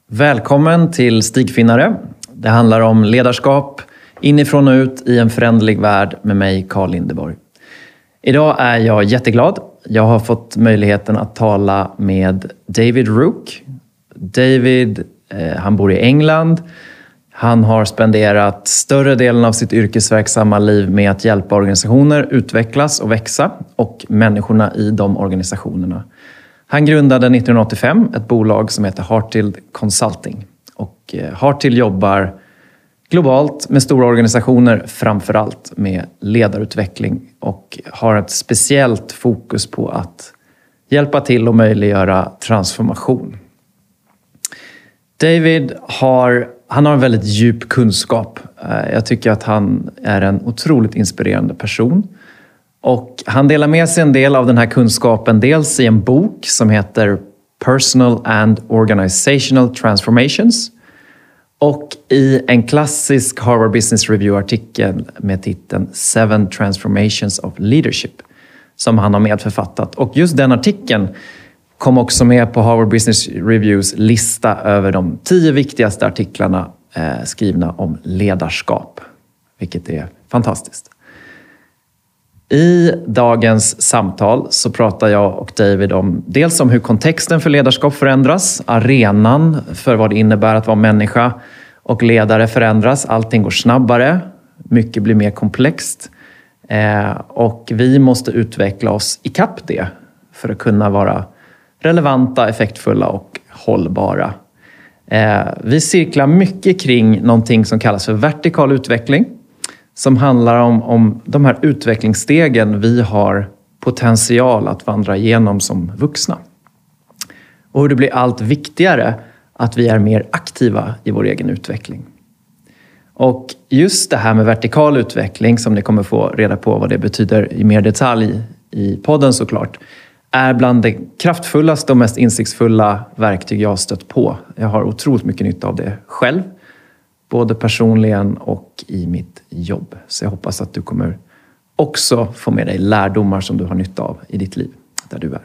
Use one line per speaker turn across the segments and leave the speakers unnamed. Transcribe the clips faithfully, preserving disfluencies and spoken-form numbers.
Välkommen till Stigfinnare. Det handlar om ledarskap inifrån och ut i en föränderlig värld med mig, Carl Lindeborg. Idag är jag jätteglad. Jag har fått möjligheten att tala med David Rook. David, eh, han bor i England. Han har spenderat större delen av sitt yrkesverksamma liv med att hjälpa organisationer utvecklas och växa och människorna i de organisationerna. Han grundade nittonhundraåttiofem ett bolag som heter Hartild Consulting. Och Hartild jobbar globalt med stora organisationer, framförallt med ledarutveckling och har ett speciellt fokus på att hjälpa till och möjliggöra transformation. David har, han har en väldigt djup kunskap. Jag tycker att han är en otroligt inspirerande person. Och han delar med sig en del av den här kunskapen dels i en bok som heter Personal and Organizational Transformations och i en klassisk Harvard Business Review-artikel med titeln Seven Transformations of Leadership som han har medförfattat. Och just den artikeln kom också med på Harvard Business Reviews lista över de tio viktigaste artiklarna eh, skrivna om ledarskap, vilket är fantastiskt. I dagens samtal så pratar jag och David om dels om hur kontexten för ledarskap förändras, arenan för vad det innebär att vara människa och ledare förändras. Allting går snabbare, mycket blir mer komplext eh, och vi måste utveckla oss i kapp det för att kunna vara relevanta, effektfulla och hållbara. Eh, vi cirklar mycket kring någonting som kallas för vertikal utveckling. Som handlar om, om de här utvecklingsstegen vi har potential att vandra igenom som vuxna. Och hur det blir allt viktigare att vi är mer aktiva i vår egen utveckling. Och just det här med vertikal utveckling, som ni kommer få reda på vad det betyder i mer detalj i podden såklart, är bland det kraftfullaste och mest insiktsfulla verktyg jag har stött på. Jag har otroligt mycket nytta av det själv. Både personligen och i mitt jobb. Så jag hoppas att du kommer också få med dig lärdomar som du har nytta av i ditt liv, där du är.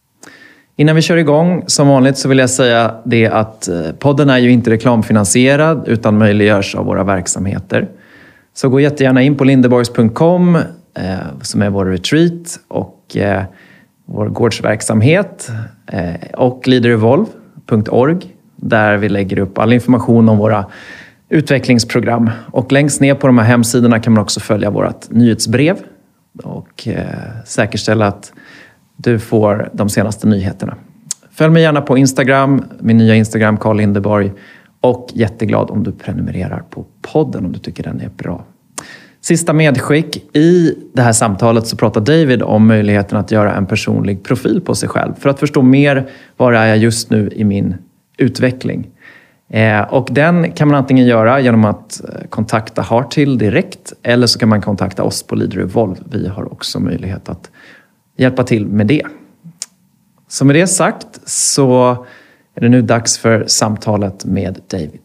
Innan vi kör igång, som vanligt så vill jag säga det att podden är ju inte reklamfinansierad utan möjliggörs av våra verksamheter. Så gå jättegärna in på lindeborgs punkt com eh, som är vår retreat och eh, vår gårdsverksamhet eh, och leaderevolve punkt org där vi lägger upp all information om våra utvecklingsprogram. Och längst ner på de här hemsidorna kan man också följa vårt nyhetsbrev och eh, säkerställa att du får de senaste nyheterna. Följ mig gärna på Instagram, min nya Instagram Carl Lindeborg, och jätteglad om du prenumererar på podden om du tycker den är bra. Sista medskick, i det här samtalet så pratar David om möjligheten att göra en personlig profil på sig själv för att förstå mer var är jag just nu i min utveckling. Eh, och den kan man antingen göra genom att kontakta Hartild direkt eller så kan man kontakta oss på leaderevolve. Vi har också möjlighet att hjälpa till med det. Så med det sagt så är det nu dags för samtalet med David.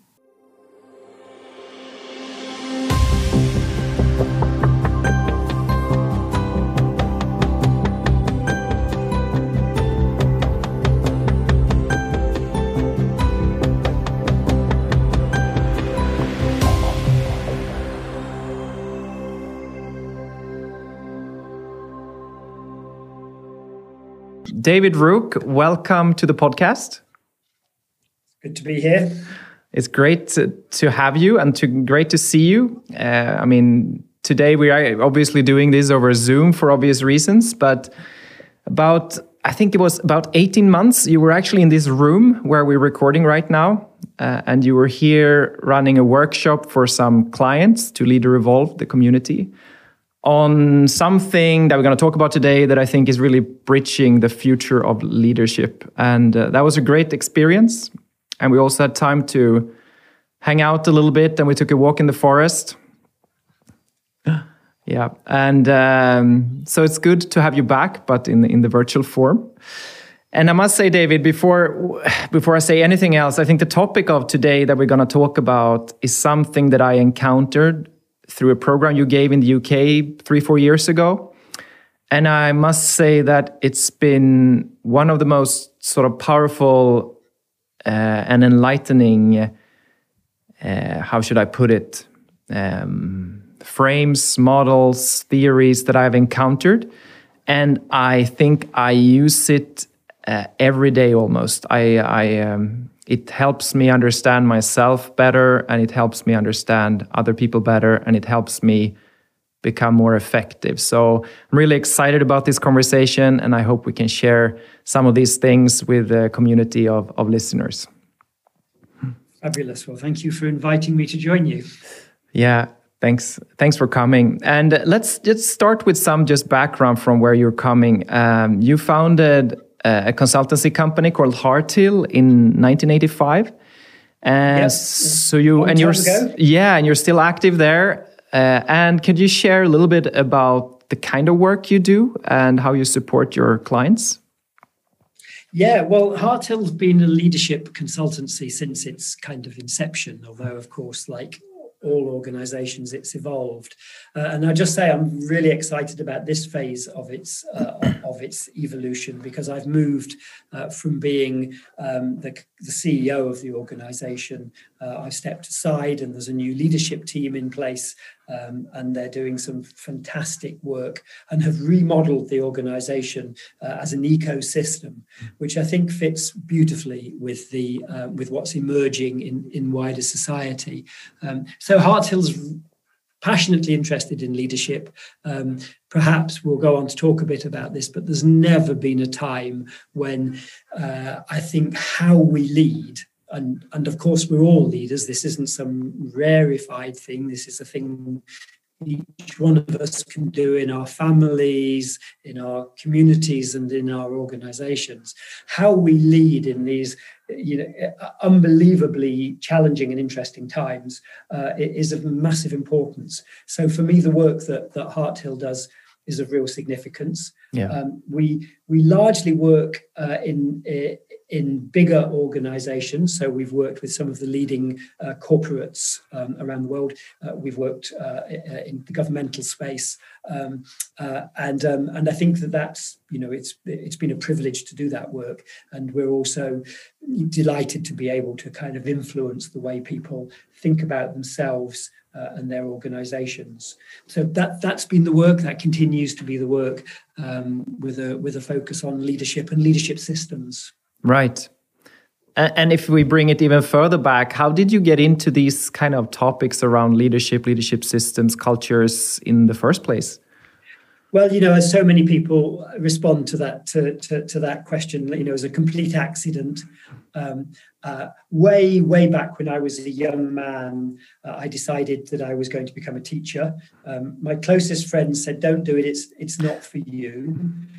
David Rook, welcome to the podcast.
Good to be here.
It's great to, to have you and to great to see you. Uh, I mean, today we are obviously doing this over Zoom for obvious reasons, but about, I think it was about eighteen months, you were actually in this room where we're recording right now, uh, and you were here running a workshop for some clients to leaderevolve the community on something that we're going to talk about today that I think is really bridging the future of leadership. And uh, that was a great experience. And we also had time to hang out a little bit and we took a walk in the forest. Yeah. And um, so it's good to have you back, but in, in the virtual form. And I must say, David, before, before I say anything else, I think the topic of today that we're going to talk about is something that I encountered through a program you gave in the U K three, four years ago. And I must say that it's been one of the most sort of powerful uh, and enlightening, uh, how should I put it, um, frames, models, theories that I've encountered. And I think I use it uh, every day almost. I, I um, it helps me understand myself better, and it helps me understand other people better, and it helps me become more effective. So I'm really excited about this conversation, and I hope we can share some of these things with the community of, of listeners.
Fabulous. Well, thank you for inviting me to join you.
Yeah, thanks. Thanks for coming. And let's just start with some just background from where you're coming. Um, you founded a consultancy company called Hearthill in nineteen eighty-five. And
Yep.
so you
Long
and you're
time ago.
yeah, and you're still active there. Uh, and could you share a little bit about the kind of work you do and how you support your clients?
Yeah, well, Hearthill's been a leadership consultancy since its kind of inception, although, of course, like all organizations, it's evolved. Uh, and I'll just say I'm really excited about this phase of its uh, of its evolution, because I've moved uh, from being um, the, the C E O of the organization. Uh, I've stepped aside, and there's a new leadership team in place, um, and they're doing some fantastic work and have remodeled the organization uh, as an ecosystem, which I think fits beautifully with the uh, with what's emerging in, in wider society. Um, so Hearthill's passionately interested in leadership. Um, perhaps we'll go on to talk a bit about this, but there's never been a time when uh, I think how we lead, and, and of course we're all leaders, this isn't some rarefied thing, this is a thing each one of us can do in our families, in our communities, and in our organizations. How we lead in these, you know, unbelievably challenging and interesting times uh, is of massive importance. So for me, the work that, that Hearthill does is of real significance.
Yeah.
Um, we we largely work uh, in in bigger organizations. So we've worked with some of the leading uh, corporates um, around the world. Uh, we've worked uh, in the governmental space. Um, uh, and um, and I think that that's, you know, it's it's been a privilege to do that work. And we're also delighted to be able to kind of influence the way people think about themselves Uh, and their organizations. So that that's been the work, that continues to be the work, um, with a with a focus on leadership and leadership systems.
Right. And, and if we bring it even further back, how did you get into these kind of topics around leadership, leadership systems, cultures in the first place?
Well, you know, as so many people respond to that to, to, to that question, you know, as a complete accident. Um, uh, way, way back when I was a young man, uh, I decided that I was going to become a teacher. Um, my closest friends said, "Don't do it. It's it's not for you."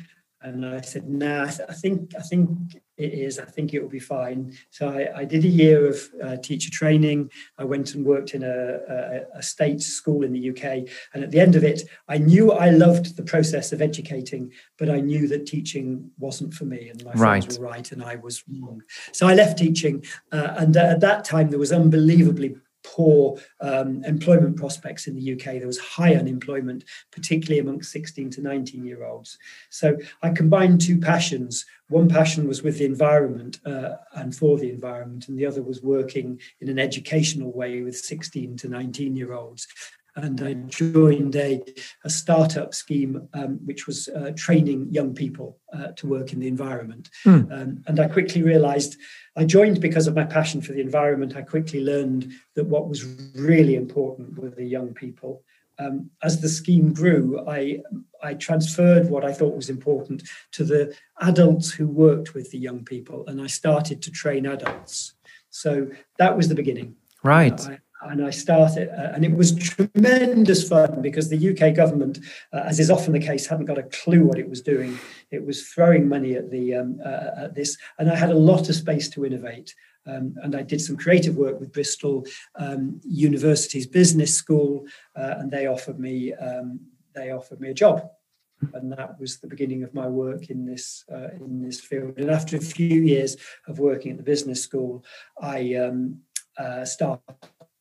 And I said, "Nah, I, th- I think I think it is. I think it will be fine." So I, I did a year of uh, teacher training. I went and worked in a, a, a state school in the U K. And at the end of it, I knew I loved the process of educating, but I knew that teaching wasn't for me. And my friends
Right.
were right, and I was wrong. So I left teaching. Uh, and uh, at that time, there was unbelievably poor um, employment prospects in the U K. There was high unemployment, particularly amongst sixteen to nineteen year olds. So I combined two passions. One passion was with the environment uh, and for the environment, and the other was working in an educational way with sixteen to nineteen year olds. And I joined a, a startup scheme, um, which was uh, training young people uh, to work in the environment. Mm. Um, and I quickly realized I joined because of my passion for the environment. I quickly learned that what was really important were the young people. Um, as the scheme grew, I, I transferred what I thought was important to the adults who worked with the young people, and I started to train adults. So that was the beginning.
Right.
Uh, I, And I started, uh, and it was tremendous fun, because the U K government, uh, as is often the case, hadn't got a clue what it was doing. It was throwing money at the um, uh, at this, and I had a lot of space to innovate. Um, and I did some creative work with Bristol um, University's business school, uh, and they offered me um, they offered me a job. And that was the beginning of my work in this uh, in this field. And after a few years of working at the business school, I um, uh, started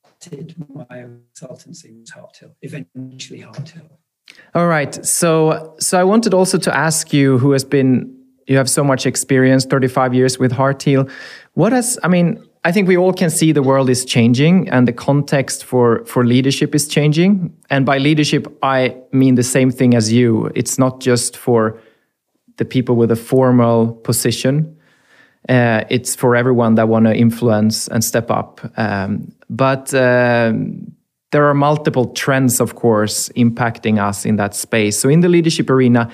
my own consultancy, was Hearthill, eventually Hearthill.
All right. So, so I wanted also to ask you, who has been, you have so much experience, thirty-five years with Heart Heal. What has, I mean, I think we all can see the world is changing and the context for, for leadership is changing. And by leadership, I mean the same thing as you. It's not just for the people with a formal position. Uh, it's for everyone that want to influence and step up. Um, but um, there are multiple trends, of course, impacting us in that space. So in the leadership arena,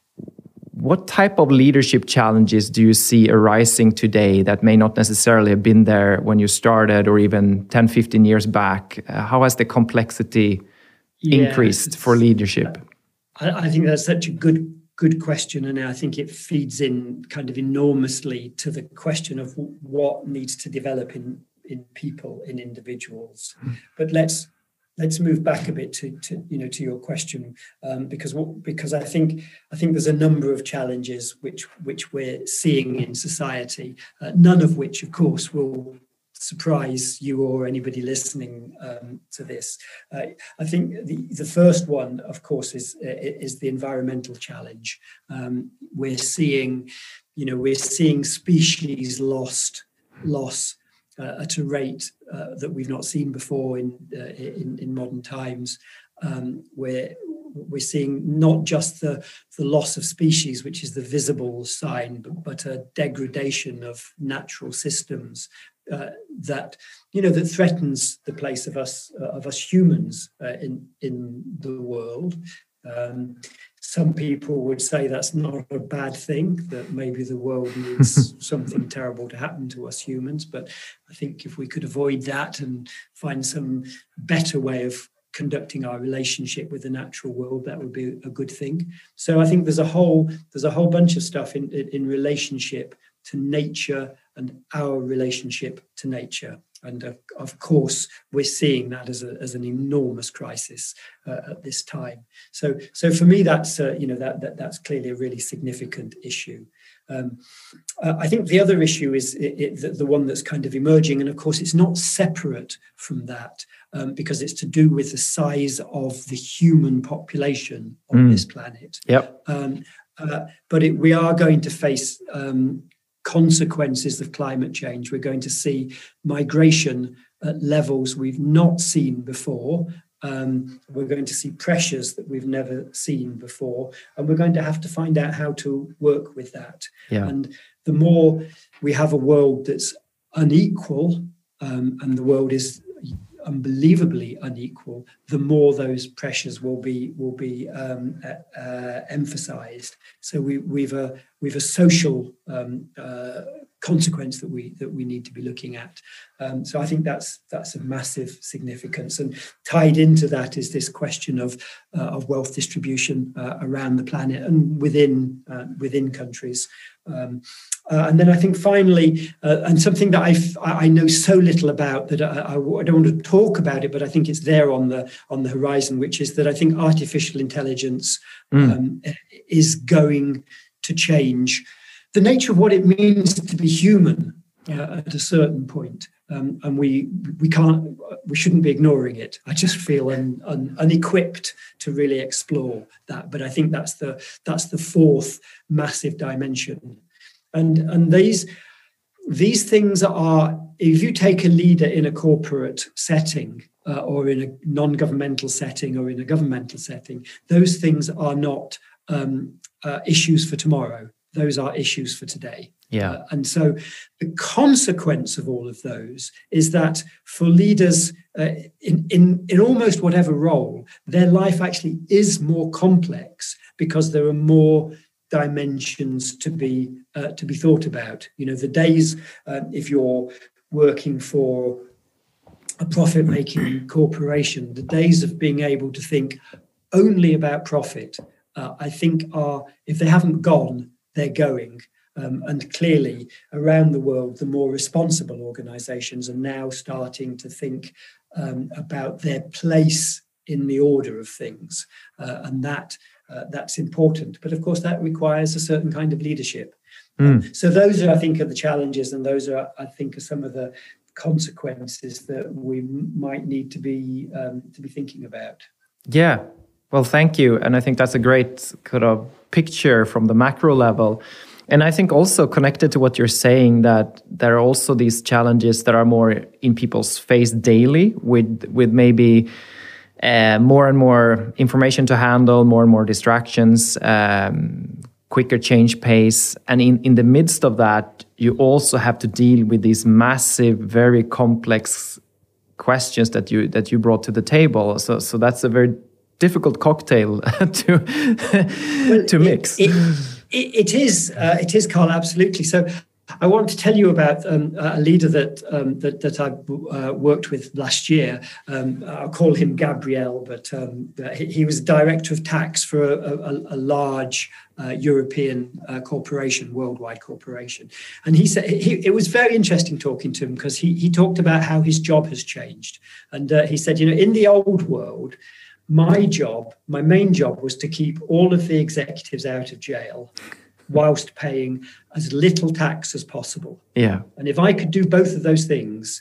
what type of leadership challenges do you see arising today that may not necessarily have been there when you started or even ten, fifteen years back? Uh, how has the complexity yeah, increased for leadership?
I, I think that's such a good good question. And I think it feeds in kind of enormously to the question of what needs to develop in, in people, in individuals. Mm. But let's Let's move back a bit to, to you know to your question um, because because I think I think there's a number of challenges which which we're seeing in society, uh, none of which, of course, will surprise you or anybody listening um, to this. Uh, I think the the first one, of course, is is the environmental challenge. Um, we're seeing, you know, we're seeing species lost loss. Uh, at a rate uh, that we've not seen before in uh, in, in modern times, um, where we're seeing not just the, the loss of species, which is the visible sign, but, but a degradation of natural systems uh, that you know that threatens the place of us uh, of us humans uh, in in the world. Um, some people would say that's not a bad thing, that maybe the world needs something terrible to happen to us humans. But I think if we could avoid that and find some better way of conducting our relationship with the natural world, that would be a good thing. So I think there's a whole there's a whole bunch of stuff in, in relationship to nature and our relationship to nature. And uh, of course, we're seeing that as, a, as an enormous crisis uh, at this time. So, so for me, that's uh, you know that, that that's clearly a really significant issue. Um, uh, I think the other issue is it, it, the, the one that's kind of emerging, and of course, it's not separate from that um, because it's to do with the size of the human population on mm. this planet.
Yep.
Um, uh, but it, we are going to face Um, consequences of climate change. We're going to see migration at levels we've not seen before. Um, we're going to see pressures that we've never seen before, and we're going to have to find out how to work with that.
Yeah.
And the more we have a world that's unequal, um, and the world is unbelievably unequal, the more those pressures will be will be um, uh, uh, emphasized. So we, we've a we've a social um, uh, consequence that we that we need to be looking at. Um, so I think that's that's a massive significance, and tied into that is this question of uh, of wealth distribution uh, around the planet and within uh, within countries. Um, uh, and then I think finally, uh, and something that I've, I know so little about that I, I don't want to talk about it, but I think it's there on the on the horizon, which is that I think artificial intelligence mm. um, is going to change the nature of what it means to be human uh, at a certain point. Um, and we we can't we shouldn't be ignoring it. I just feel un, un, unequipped to really explore that. But I think that's the that's the fourth massive dimension. And and these these things are, if you take a leader in a corporate setting uh, or in a non-governmental setting or in a governmental setting, those things are not um, uh, issues for tomorrow. Those are issues for today.
Yeah.
Uh, and so the consequence of all of those is that for leaders uh, in, in, in almost whatever role, their life actually is more complex because there are more dimensions to be uh, to be thought about. You know, the days uh, if you're working for a profit-making corporation, the days of being able to think only about profit, uh, I think are, if they haven't gone, they're going. Um, and clearly, around the world, the more responsible organizations are now starting to think um, about their place in the order of things. Uh, and that uh, that's important. But of course, that requires a certain kind of leadership. Mm. Um, so those are, I think, are the challenges. And those are, I think, are some of the consequences that we might need to be um, to be thinking about.
Yeah. Well, thank you. And I think that's a great kind of picture from the macro level. And I think also connected to what you're saying, that there are also these challenges that are more in people's face daily, with with maybe uh, more and more information to handle, more and more distractions, um, quicker change pace. And in, in the midst of that, you also have to deal with these massive, very complex questions that you that you brought to the table. So so that's a very difficult cocktail to
well,
to mix.
It, it, it is, uh, it is, Carl, absolutely. So I want to tell you about um, a leader that um, that, that I uh, worked with last year. Um, I'll call him Gabriel, but um, he, he was director of tax for a, a, a large uh, European uh, corporation, worldwide corporation. And he said he, it was very interesting talking to him, because he, he talked about how his job has changed. And uh, he said, you know, in the old world, my job, my main job was to keep all of the executives out of jail whilst paying as little tax as possible.
Yeah.
And if I could do both of those things,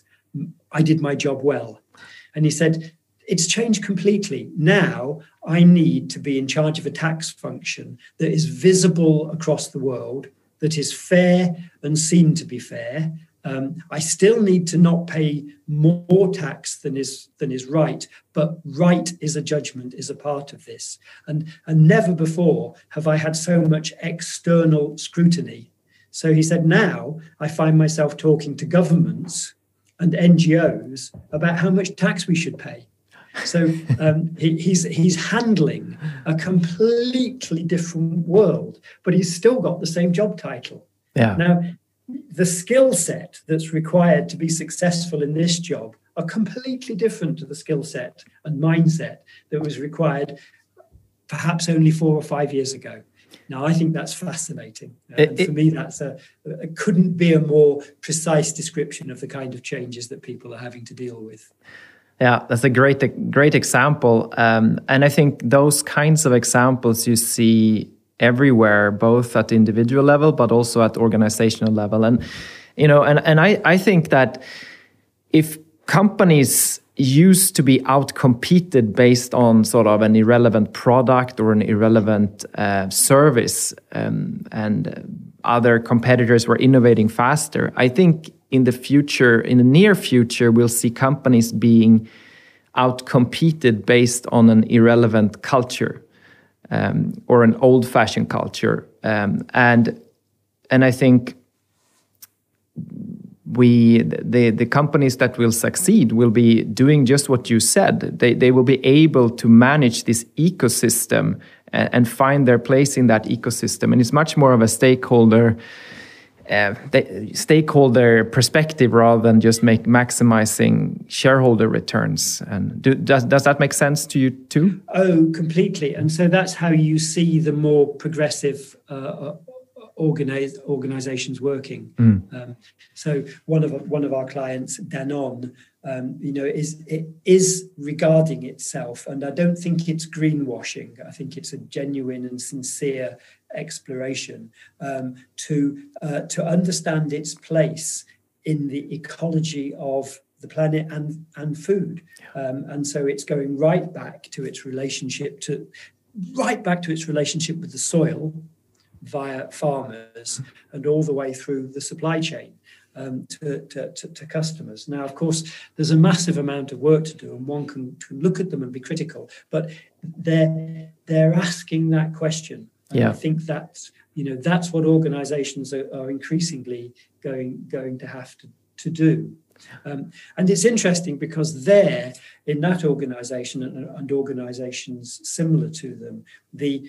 I did my job well. And he said, it's changed completely. Now I need to be in charge of a tax function that is visible across the world, that is fair and seen to be fair. Um, I still need to not pay more tax than is than is right, but right is a judgment, is a part of this. And, and never before have I had so much external scrutiny. So he said, now I find myself talking to governments and N G Os about how much tax we should pay. So um, he, he's he's handling a completely different world, but he's still got the same job title.
Yeah.
Now, the skill set that's required to be successful in this job are completely different to the skill set and mindset that was required perhaps only four or five years ago. Now, I think that's fascinating. Uh, and for me, that's a, it couldn't be a more precise description of the kind of changes that people are having to deal with.
Yeah, that's a great, great example. Um, and I think those kinds of examples you see everywhere, both at the individual level, but also at organizational level. And, you know, and, and I, I think that if companies used to be outcompeted based on sort of an irrelevant product or an irrelevant uh, service, um, and other competitors were innovating faster, I think in the future, in the near future, we'll see companies being outcompeted based on an irrelevant culture. Um, or an old-fashioned culture, um, and and I think we the the companies that will succeed will be doing just what you said. They they will be able to manage this ecosystem and, and find their place in that ecosystem, and it's much more of a stakeholder uh, the stakeholder perspective rather than just make maximizing shareholder returns. And do, does does that make sense to you too?
Oh, completely. And so that's how you see the more progressive uh, organize, organizations working. Mm. Um, so one of one of our clients, Danone, um, you know, is it is regarding itself, and I don't think it's greenwashing. I think it's a genuine and sincere exploration um, to uh, to understand its place in the ecology of the planet and and food, um, and so it's going right back to its relationship to right back to its relationship with the soil via farmers and all the way through the supply chain um, to, to, to, to customers. Now, of course, there's a massive amount of work to do, and one can, can look at them and be critical, but they're they're asking that question. And yeah. I think that's, you know, that's what organizations are, are increasingly going going to have to, to do. Um, and it's interesting because there, in that organization and, and organizations similar to them, the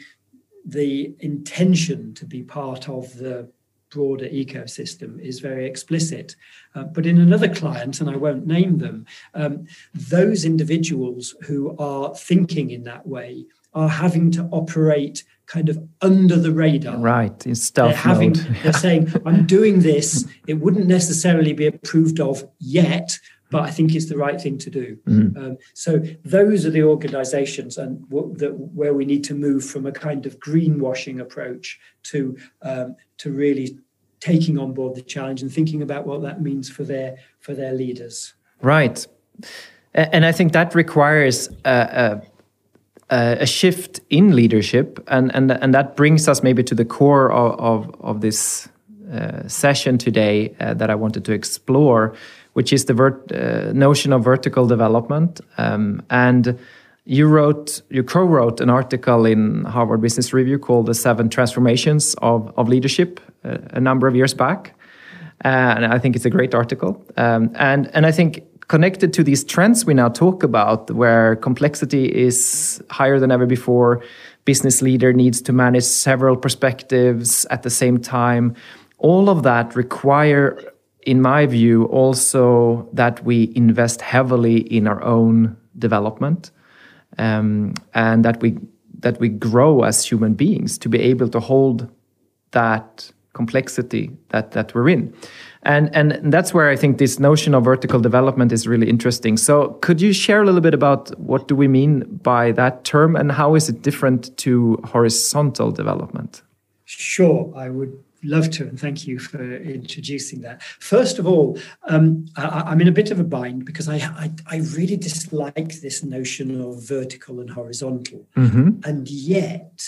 the intention to be part of the broader ecosystem is very explicit. Uh, but in another client, and I won't name them, um, those individuals who are thinking in that way are having to operate kind of under the radar.
Right, in stealth
they're having,
mode.
They're saying, I'm doing this. It wouldn't necessarily be approved of yet, but I think it's the right thing to do. Mm. Um, so those are the organizations and w- the, where we need to move from a kind of greenwashing approach to um, to really taking on board the challenge and thinking about what that means for their for their leaders.
Right. And I think that requires a, a uh, a shift in leadership, and, and, and that brings us maybe to the core of, of, of this uh, session today uh, that I wanted to explore, which is the vert- uh, notion of vertical development. Um, and you wrote, you co-wrote an article in Harvard Business Review called "The Seven Transformations of, of Leadership" uh, a number of years back, uh, and I think it's a great article. Um, and and I think connected to these trends we now talk about, where complexity is higher than ever before, business leader needs to manage several perspectives at the same time. All of that require, in my view, also that we invest heavily in our own development, um, and that we that we grow as human beings to be able to hold that complexity that that we're in. And and that's where I think this notion of vertical development is really interesting. So could you share a little bit about what do we mean by that term, and how is it different to horizontal development?
Sure, I would love to, and thank you for introducing that. First of all, um, I, I'm in a bit of a bind because I, I, I really dislike this notion of vertical and horizontal, mm-hmm. and yet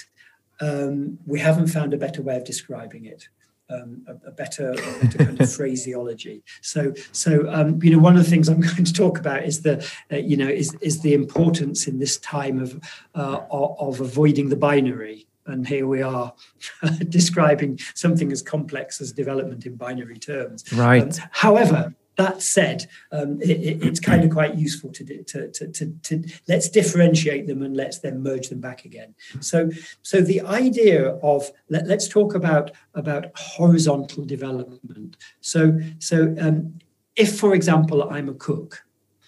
um, we haven't found a better way of describing it. Um, a, a better, a better kind of phraseology. So, so um, you know, one of the things I'm going to talk about is the, uh, you know, is is the importance in this time of uh, of avoiding the binary. And here we are describing something as complex as development in binary terms.
Right.
Um, however, that said, um, it, it, it's kind of quite useful to, to, to, to, to let's differentiate them and let's then merge them back again. So, so the idea of let, let's talk about about horizontal development. So, so um, if, for example, I'm a cook,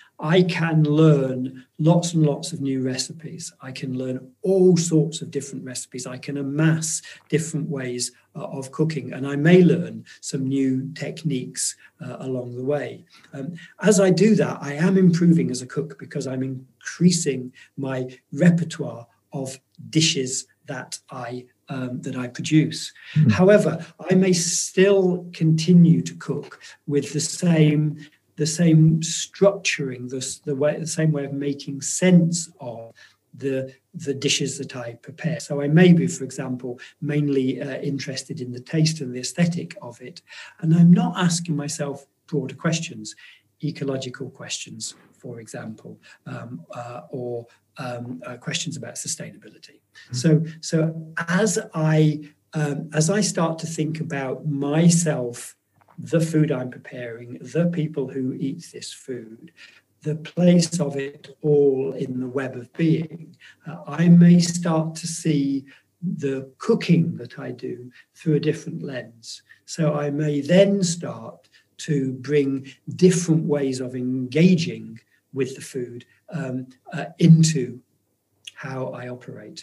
I can learn lots and lots of new recipes. I can learn all sorts of different recipes. I can amass different ways uh, of cooking, and I may learn some new techniques uh, along the way. Um, as I do that, I am improving as a cook because I'm increasing my repertoire of dishes that I um, that I produce. Mm. However, I may still continue to cook with the same the same structuring, the, the way, the same way of making sense of the, the dishes that I prepare. So I may be, for example, mainly uh, interested in the taste and the aesthetic of it. And I'm not asking myself broader questions, ecological questions, for example, um, uh, or um, uh, questions about sustainability. Mm-hmm. So, so as I um, as I start to think about myself, the food I'm preparing, the people who eat this food, the place of it all in the web of being, uh, I may start to see the cooking that I do through a different lens. So I may then start to bring different ways of engaging with the food um, uh, into how I operate.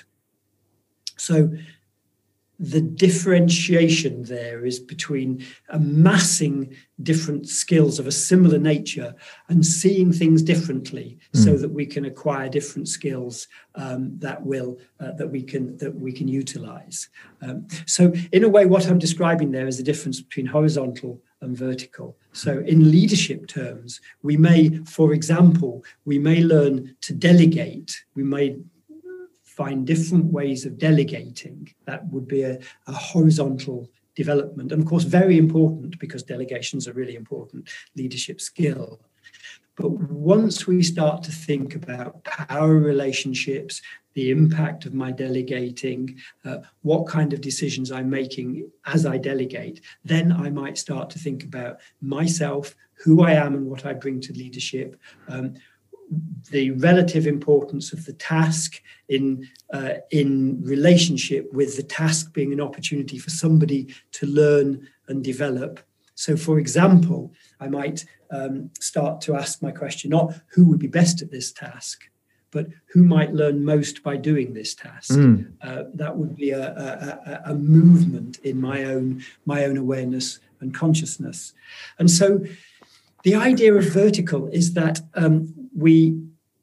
So the differentiation there is between amassing different skills of a similar nature and seeing things differently, mm. so that we can acquire different skills um, that will uh, that we can that we can utilize. Um, so, in a way, what I'm describing there is the difference between horizontal and vertical. So, in leadership terms, we may, for example, we may learn to delegate. We may find different ways of delegating. That would be a, a horizontal development. And of course, very important, because delegation's a really important leadership skill. But once we start to think about power relationships, the impact of my delegating, uh, what kind of decisions I'm making as I delegate, then I might start to think about myself, who I am and what I bring to leadership, um, the relative importance of the task in uh, in relationship with the task being an opportunity for somebody to learn and develop. So, for example, I might um, start to ask my question, not who would be best at this task, but who might learn most by doing this task. Mm. Uh, that would be a, a, a movement in my own my own awareness and consciousness. And so the idea of vertical is that um, we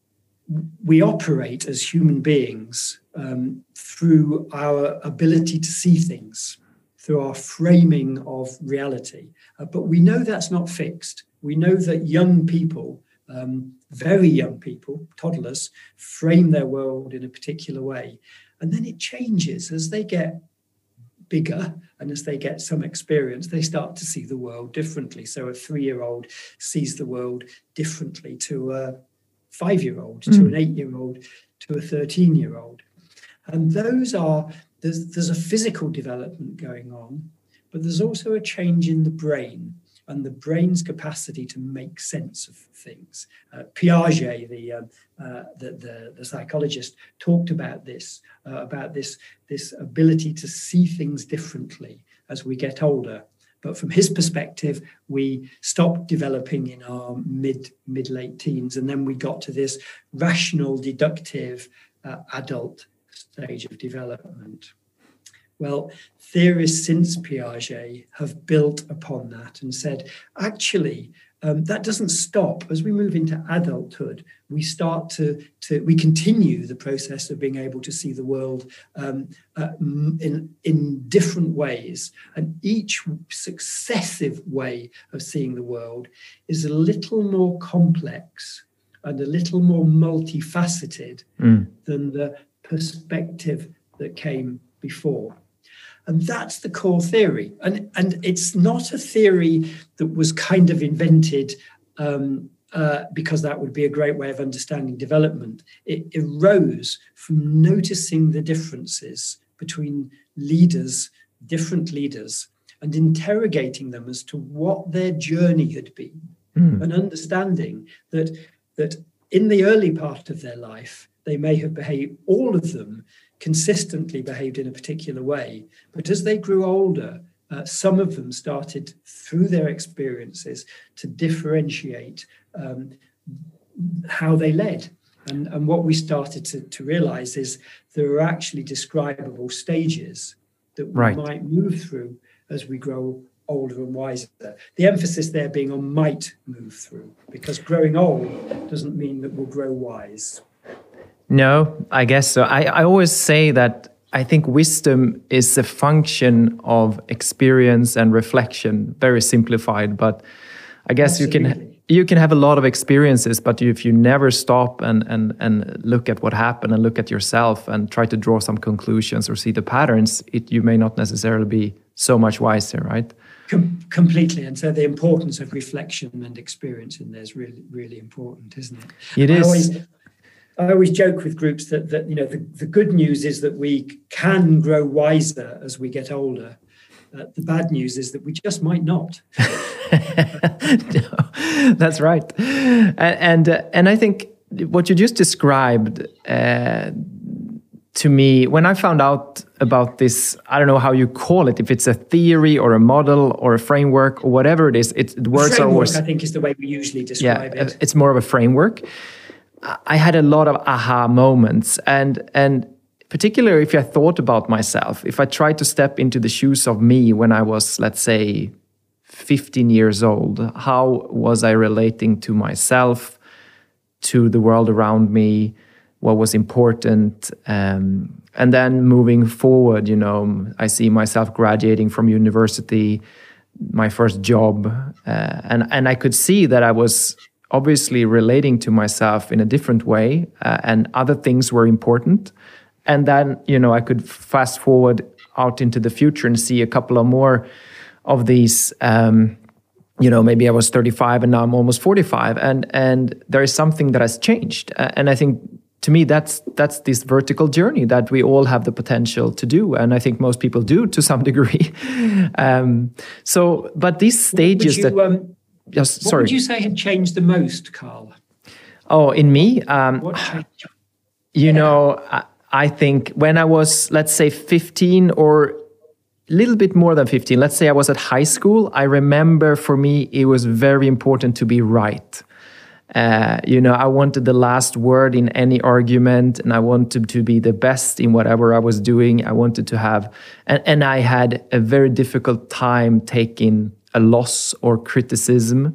we operate as human beings um, through our ability to see things, through our framing of reality. Uh, but we know that's not fixed. We know that young people Um, very young people, toddlers, frame their world in a particular way. And then it changes as they get bigger and as they get some experience, they start to see the world differently. So a three-year-old sees the world differently to a five-year-old, mm. to an eight-year-old, to a thirteen-year-old. And those are, there's, there's a physical development going on, but there's also a change in the brain and the brain's capacity to make sense of things. Uh, Piaget, the, um, uh, the, the the psychologist, talked about this, uh, about this, this ability to see things differently as we get older. But from his perspective, we stopped developing in our mid, mid-late teens, and then we got to this rational, deductive, uh, adult stage of development. Well, theorists since Piaget have built upon that and said, actually, um, that doesn't stop. As we move into adulthood, we start to, to we continue the process of being able to see the world um, uh, in, in different ways. And each successive way of seeing the world is a little more complex and a little more multifaceted mm. than the perspective that came before. And that's the core theory. And, and it's not a theory that was kind of invented um, uh, because that would be a great way of understanding development. It arose from noticing the differences between leaders, different leaders, and interrogating them as to what their journey had been, mm. and understanding that, that in the early part of their life, they may have behaved, all of them, consistently behaved in a particular way. But as they grew older, uh, some of them started, through their experiences, to differentiate um, how they led. And, and what we started to, to realize is there are actually describable stages that we right. might move through as we grow older and wiser. The emphasis there being on might move through, because growing old doesn't mean that we'll grow wise.
No, I guess so. I, I always say that I think wisdom is a function of experience and reflection, very simplified. But I guess Absolutely. you can you can have a lot of experiences, but if you never stop and, and, and look at what happened and look at yourself and try to draw some conclusions or see the patterns, it, you may not necessarily be so much wiser, right?
Com- completely. And so the importance of reflection and experience in there is really, really important, isn't it?
It
I
is.
Always, I always joke with groups that, that you know, the, the good news is that we can grow wiser as we get older. Uh, the bad news is that we just might not.
No, that's right. And and, uh, and I think what you just described uh, to me, when I found out about this, I don't know how you call it, if it's a theory or a model or a framework or whatever it is, it, words
framework,
are always...
I think is the way we usually describe
yeah,
it.
It's more of a framework. I had a lot of aha moments, and and particularly if I thought about myself, if I tried to step into the shoes of me when I was, let's say, fifteen years old, how was I relating to myself, to the world around me, what was important, um, and then moving forward, you know, I see myself graduating from university, my first job, uh, and and I could see that I was obviously relating to myself in a different way, uh, and other things were important. And then, you know, I could fast forward out into the future and see a couple of more of these, um, you know, maybe I was thirty-five and now I'm almost forty-five. And and there is something that has changed. Uh, and I think, to me, that's that's this vertical journey that we all have the potential to do. And I think most people do to some degree. um, so, but these stages
you,
that...
Um,
Yes,
what
sorry.
would you say had changed the most, Carl?
Oh, in me? Um,
what changed?
You
Yeah.
know, I, I think when I was, let's say, fifteen or a little bit more than fifteen, let's say I was at high school, I remember for me it was very important to be right. Uh, you know, I wanted the last word in any argument, and I wanted to be the best in whatever I was doing. I wanted to have, and, and I had a very difficult time taking a loss or criticism.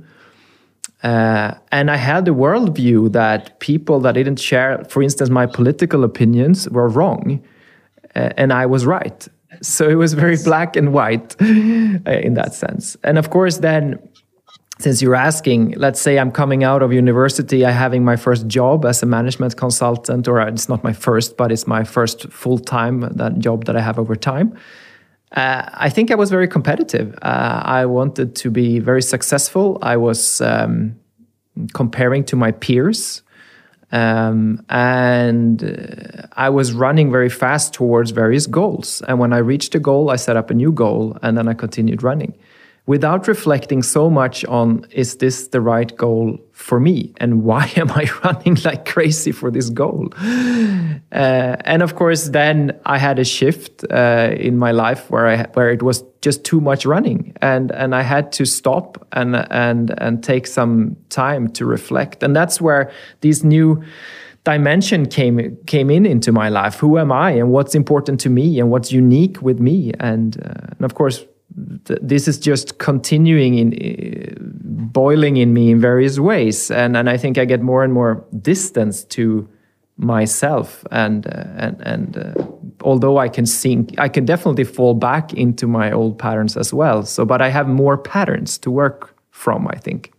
Uh, and I had a worldview that people that didn't share, for instance, my political opinions were wrong, uh, and I was right. So it was very black and white uh, in that sense. And of course, then since you're asking, let's say I'm coming out of university, I'm having my first job as a management consultant, or it's not my first, but it's my first full-time that job that I have over time. Uh, I think I was very competitive. Uh, I wanted to be very successful. I was um, comparing to my peers. Um, and uh, I was running very fast towards various goals. And when I reached a goal, I set up a new goal, and then I continued running without reflecting so much on, is this the right goal for me? And why am I running like crazy for this goal? Uh, and of course, then I had a shift uh, in my life where I where it was just too much running, and and I had to stop and and and take some time to reflect. And that's where these new dimension came came in into my life. Who am I, and what's important to me, and what's unique with me? And, uh, and of course, th- this is just continuing in uh, boiling in me in various ways. And and I think I get more and more distance to myself, and uh, and and uh, although I can sink, I can definitely fall back into my old patterns as well. So, but I have more patterns to work from, I think.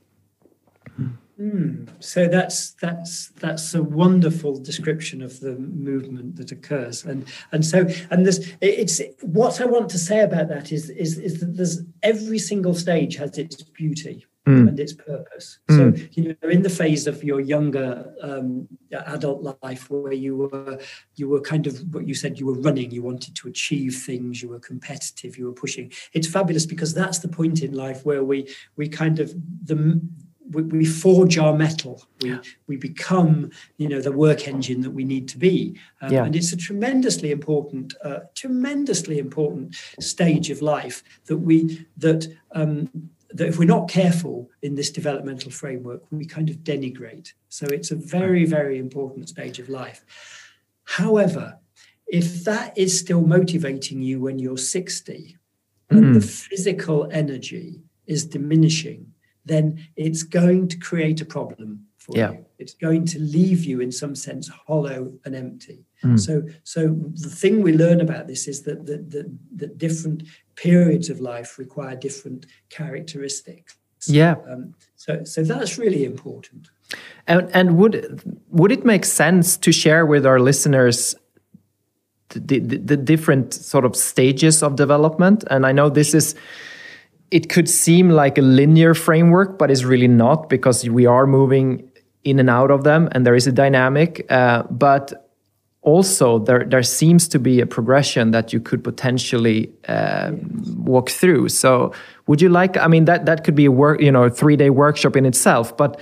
Mm. So that's that's that's a wonderful description of the movement that occurs, and and so and there's it's what I want to say about that is is is that there's every single stage has its beauty. Mm. And its purpose. Mm. So, you know, in the phase of your younger um, adult life where you were, you were kind of what you said, you were running, you wanted to achieve things, you were competitive, you were pushing. It's fabulous because that's the point in life where we we kind of the we, we forge our metal. We yeah. we become, you know, the work engine that we need to be. Um, yeah. And it's a tremendously important, uh, tremendously important stage of life that we that. Um, that if we're not careful in this developmental framework, we kind of denigrate. So it's a very, very important stage of life. However, if that is still motivating you when you're sixty and mm. the physical energy is diminishing, then it's going to create a problem for yeah. you. It's going to leave you in some sense hollow and empty. Mm. So, so the thing we learn about this is that the, the, the different periods of life require different characteristics.
Yeah.
Um, so, so that's really important.
And and would would it make sense to share with our listeners the, the, the different sort of stages of development? And I know this is. It could seem like a linear framework, but it's really not, because we are moving in and out of them, and there is a dynamic. Uh, but also, there there seems to be a progression that you could potentially uh, walk through. So, would you like? I mean, that that could be a work, you know, a three day workshop in itself. But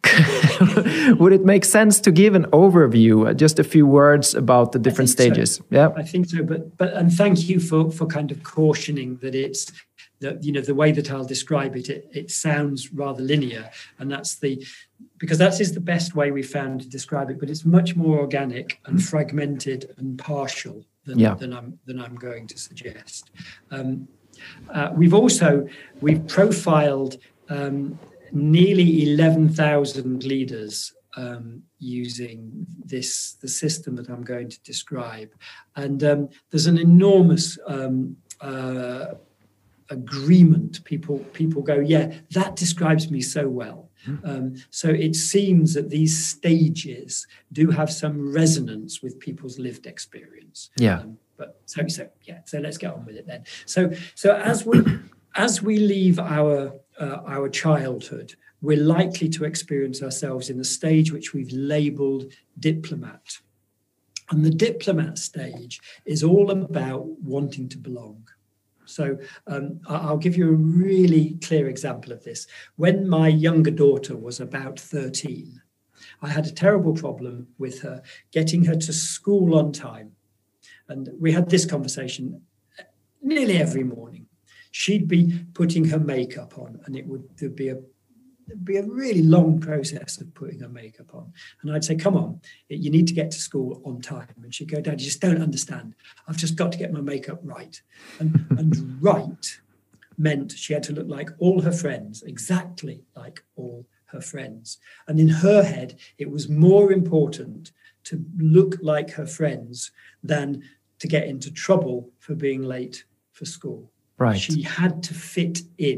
would it make sense to give an overview, just a few words about the different stages?
So.
Yeah,
I think so. But but and thank you for for kind of cautioning that it's. That, you know, the way that I'll describe it, it, it sounds rather linear, and that's the because that is the best way we found to describe it. But it's much more organic and fragmented and partial than, yeah. than I'm than I'm going to suggest. Um, uh, we've also we've profiled um, nearly eleven thousand leaders um, using this the system that I'm going to describe, and um, there's an enormous. Um, uh, agreement. People people go, yeah, that describes me so well. Um, so it seems that these stages do have some resonance with people's lived experience.
Yeah.
Um, but so so yeah. So let's get on with it then. So so as we as we leave our uh, our childhood, we're likely to experience ourselves in a stage which we've labelled diplomat, and the diplomat stage is all about wanting to belong. So um, I'll give you a really clear example of this. When my younger daughter was about thirteen, I had a terrible problem with her getting her to school on time. And we had this conversation nearly every morning. She'd be putting her makeup on, and it would there'd be a It'd be a really long process of putting her makeup on. And I'd say, come on, you need to get to school on time. And she'd go, Dad, you just don't understand. I've just got to get my makeup right. And, and right meant she had to look like all her friends, exactly like all her friends. And in her head, it was more important to look like her friends than to get into trouble for being late for school.
Right.
She had to fit in.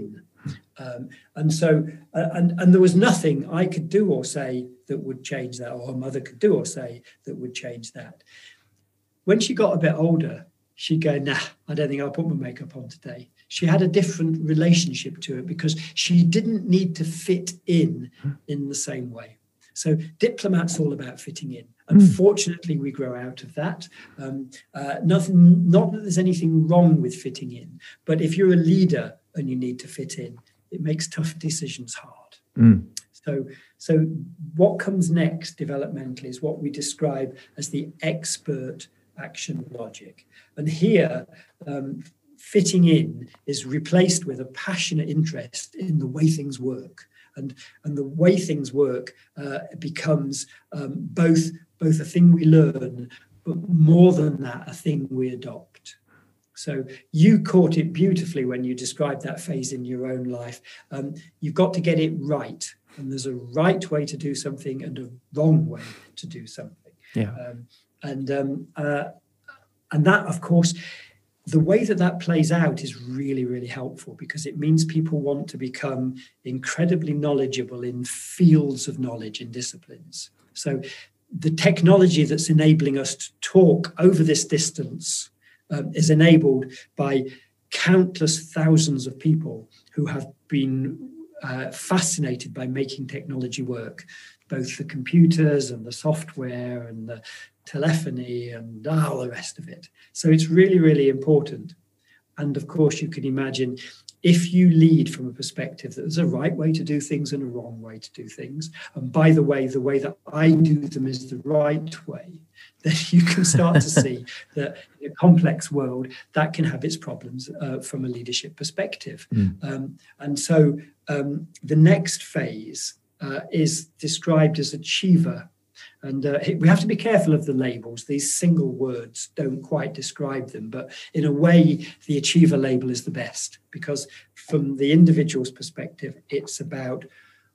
Um, and so, uh, and, and there was nothing I could do or say that would change that, or her mother could do or say that would change that. When she got a bit older, she'd go, nah, I don't think I'll put my makeup on today. She had a different relationship to it because she didn't need to fit in in the same way. So Diplomat's all about fitting in. Unfortunately, we grow out of that. Um, uh, nothing, not that there's anything wrong with fitting in, but if you're a leader and you need to fit in, it makes tough decisions hard. Mm. So, so what comes next developmentally is what we describe as the expert action logic. And here, um, fitting in is replaced with a passionate interest in the way things work. And, and the way things work uh, becomes um, both, both a thing we learn, but more than that, a thing we adopt. So you caught it beautifully when you described that phase in your own life. Um, you've got to get it right. And there's a right way to do something and a wrong way to do something.
Yeah.
Um, and um, uh, and that, of course, the way that that plays out is really, really helpful because it means people want to become incredibly knowledgeable in fields of knowledge and disciplines. So the technology that's enabling us to talk over this distance um, is enabled by countless thousands of people who have been uh, fascinated by making technology work, both the computers and the software and the telephony and all the rest of it. So it's really, really important. And of course, you can imagine if you lead from a perspective that there's a right way to do things and a wrong way to do things, and by the way, the way that I do them is the right way, then you can start to see that in a complex world, that can have its problems uh, from a leadership perspective. Mm. Um, and so um, the next phase uh, is described as achiever. And uh, we have to be careful of the labels. These single words don't quite describe them. But in a way, the achiever label is the best because from the individual's perspective, it's about,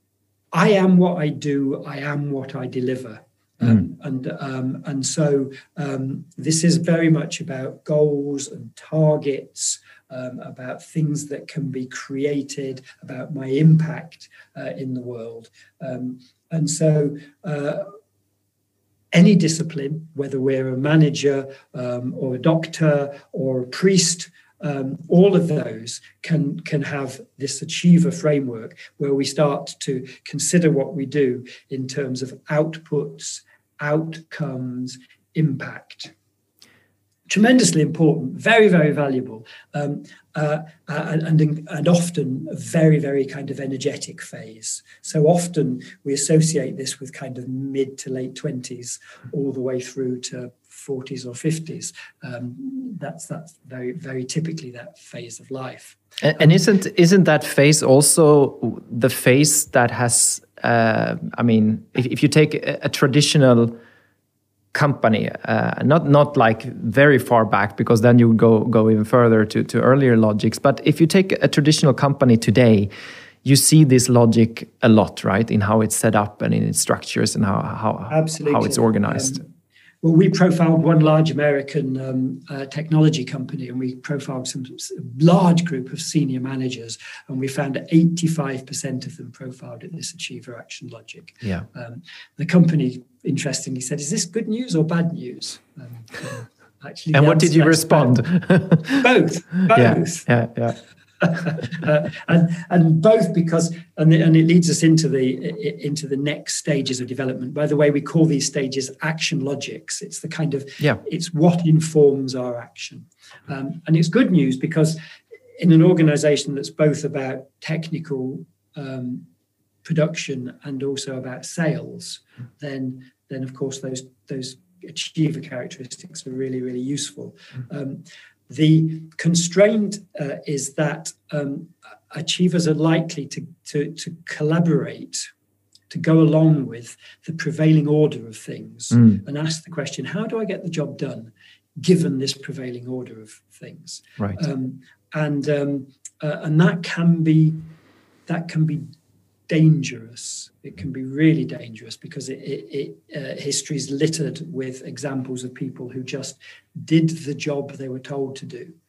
I am what I do, I am what I deliver. Mm. Um, and um, and so um, this is very much about goals and targets, um, about things that can be created, about my impact uh, in the world. Um, and so... Uh, Any discipline, whether we're a manager um, or a doctor or a priest, um, all of those can, can have this achiever framework where we start to consider what we do in terms of outputs, outcomes, impact. Tremendously important, very, very valuable, um, uh, and, and, and often a very, very kind of energetic phase. So often we associate this with kind of mid to late twenties all the way through to forties or fifties. Um, that's that's very, very typically that phase of life.
And, and isn't isn't that phase also the phase that has, uh, I mean, if, if you take a, a traditional company, uh, not not like very far back, because then you would go go even further to, to earlier logics. But if you take a traditional company today, you see this logic a lot, right? In how it's set up and in its structures and how how,
Absolutely.
how it's organized.
Um, well, we profiled one large American um, uh, technology company, and we profiled some large group of senior managers, and we found that eighty-five percent of them profiled at this achiever action logic.
Yeah.
Um, the company, interestingly, said, "Is this good news or bad news?" Um, uh, actually,
and what did you respond?
Both. Both.
Yeah. Yeah. yeah.
uh, and and both because and and it leads us into the into the next stages of development. By the way, we call these stages action logics. It's the kind of
yeah.
it's what informs our action, um, and it's good news because in an organization that's both about technical um, production and also about sales, then then of course those those achiever characteristics are really really useful. Um, The constraint uh, is that um, achievers are likely to, to, to collaborate, to go along with the prevailing order of things mm. and ask the question, how do I get the job done given this prevailing order of things?
Right.
Um, and um, uh, and that can be that can be dangerous. It can be really dangerous because it, it, it uh, history is littered with examples of people who just did the job they were told to do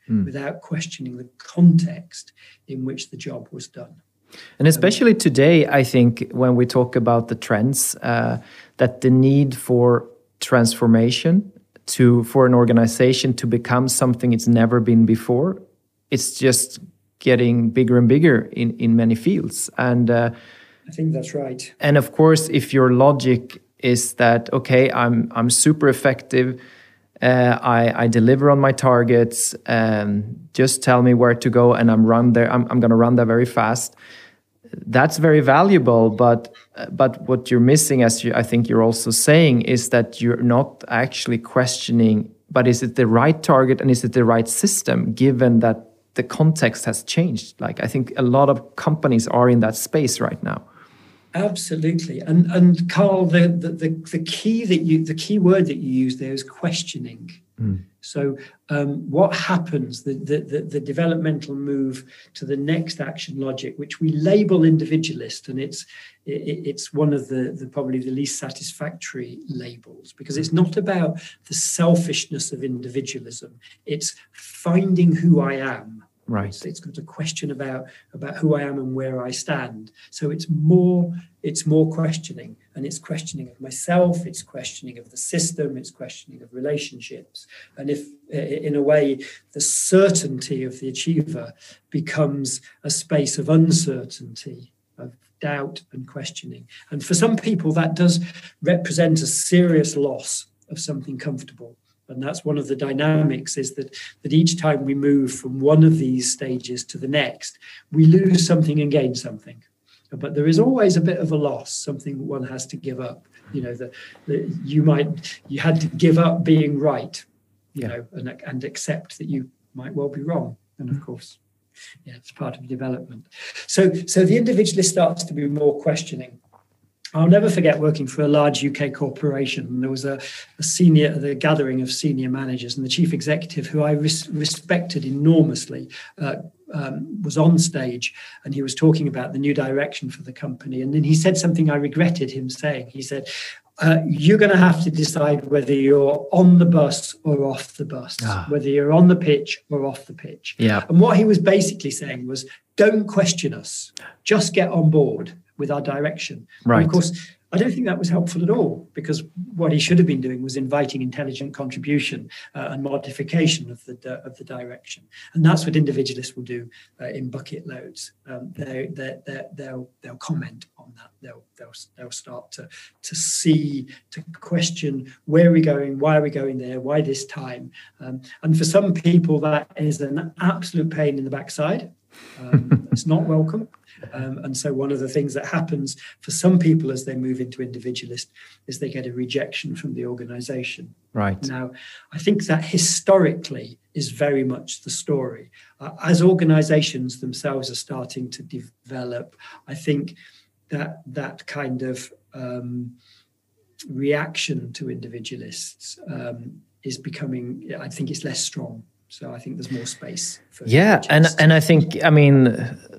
mm. without questioning the context in which the job was done.
And especially today, I think when we talk about the trends, uh, that the need for transformation to for an organization to become something it's never been before, it's just getting bigger and bigger in, in many fields. And uh,
I think that's right.
And of course, if your logic is that, okay, I'm I'm super effective, uh, I, I deliver on my targets, um, just tell me where to go and I'm run there. I'm, I'm going to run there very fast. That's very valuable, but but what you're missing, as you, I think you're also saying, is that you're not actually questioning, but is it the right target and is it the right system, given that the context has changed? Like, I think a lot of companies are in that space right now.
Absolutely, and and Carl, the the the, the key that you the key word that you use there is questioning. Mm. So um, what happens, the, the, the, the developmental move to the next action logic, which we label individualist, and it's it, it's one of the, the probably the least satisfactory labels, because it's not about the selfishness of individualism. It's finding who I am.
Right.
It's, it's got a question about, about who I am and where I stand. So it's more it's more questioning, and it's questioning of myself, it's questioning of the system, it's questioning of relationships. And if, in a way, the certainty of the achiever becomes a space of uncertainty, of doubt and questioning. And for some people, that does represent a serious loss of something comfortable. And that's one of the dynamics, is that, that each time we move from one of these stages to the next, we lose something and gain something. But there is always a bit of a loss, something one has to give up. You know, that you might, you had to give up being right, you yeah. know, and, and accept that you might well be wrong. And of course, yeah, it's part of development. So, so the individualist starts to be more questioning. I'll never forget working for a large U K corporation. And there was a, a senior, the gathering of senior managers, and the chief executive, who I res- respected enormously, uh, um, was on stage, and he was talking about the new direction for the company. And then he said something I regretted him saying. He said, uh, you're going to have to decide whether you're on the bus or off the bus, ah. whether you're on the pitch or off the pitch.
Yeah.
And what he was basically saying was, don't question us, just get on board with our direction.
Right.
And of course, I don't think that was helpful at all, because what he should have been doing was inviting intelligent contribution uh, and modification of the uh, of the direction. And that's what individualists will do uh, in bucket loads. Um, they they they'll they'll comment on that. They'll they'll they'll start to to see, to question, where are we going, why are we going there, why this time. Um, and for some people, that is an absolute pain in the backside. Um, it's not welcome. Um, and so one of the things that happens for some people as they move into individualist is they get a rejection from the organization.
Right.
Now, I think that historically is very much the story. Uh, as organizations themselves are starting to develop, I think that that kind of um, reaction to individualists um, is becoming, I think it's less strong. So I think there's more space for
yeah, and and I think I mean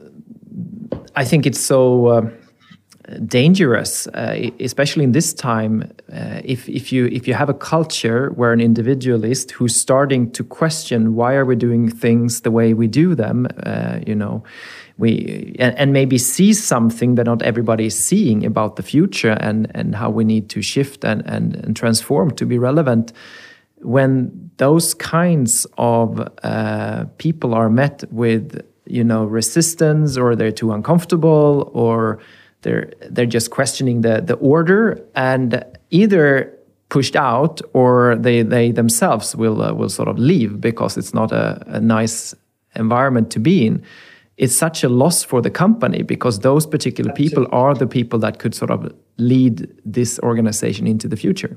I think it's so uh, dangerous, uh, especially in this time. Uh, if if you if you have a culture where an individualist who's starting to question, why are we doing things the way we do them, uh, you know, we and, and maybe see something that not everybody is seeing about the future, and and how we need to shift and and, and transform to be relevant. When those kinds of uh, people are met with, you know, resistance, or they're too uncomfortable, or they're they're just questioning the the order, and either pushed out, or they they themselves will uh, will sort of leave because it's not a, a nice environment to be in. It's such a loss for the company, because those particular people are the people that could sort of lead this organization into the future.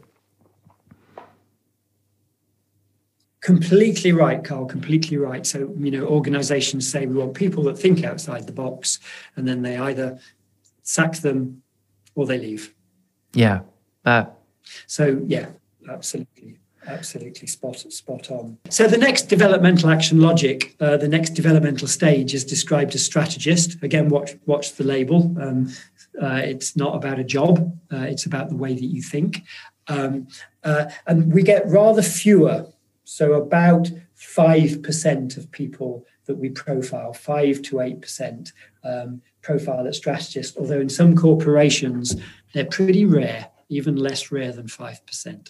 Completely right, Carl, completely right. So, you know, organizations say we want people that think outside the box, and then they either sack them or they leave.
Yeah. Uh,
so, yeah, absolutely. Absolutely spot spot on. So the next developmental action logic, uh, the next developmental stage, is described as strategist. Again, watch watch the label. Um, uh, it's not about a job. Uh, it's about the way that you think. Um, uh, and we get rather fewer. So about five percent of people that we profile, five to eight percent um, profile at strategists, although in some corporations, they're pretty rare, even less rare than five percent.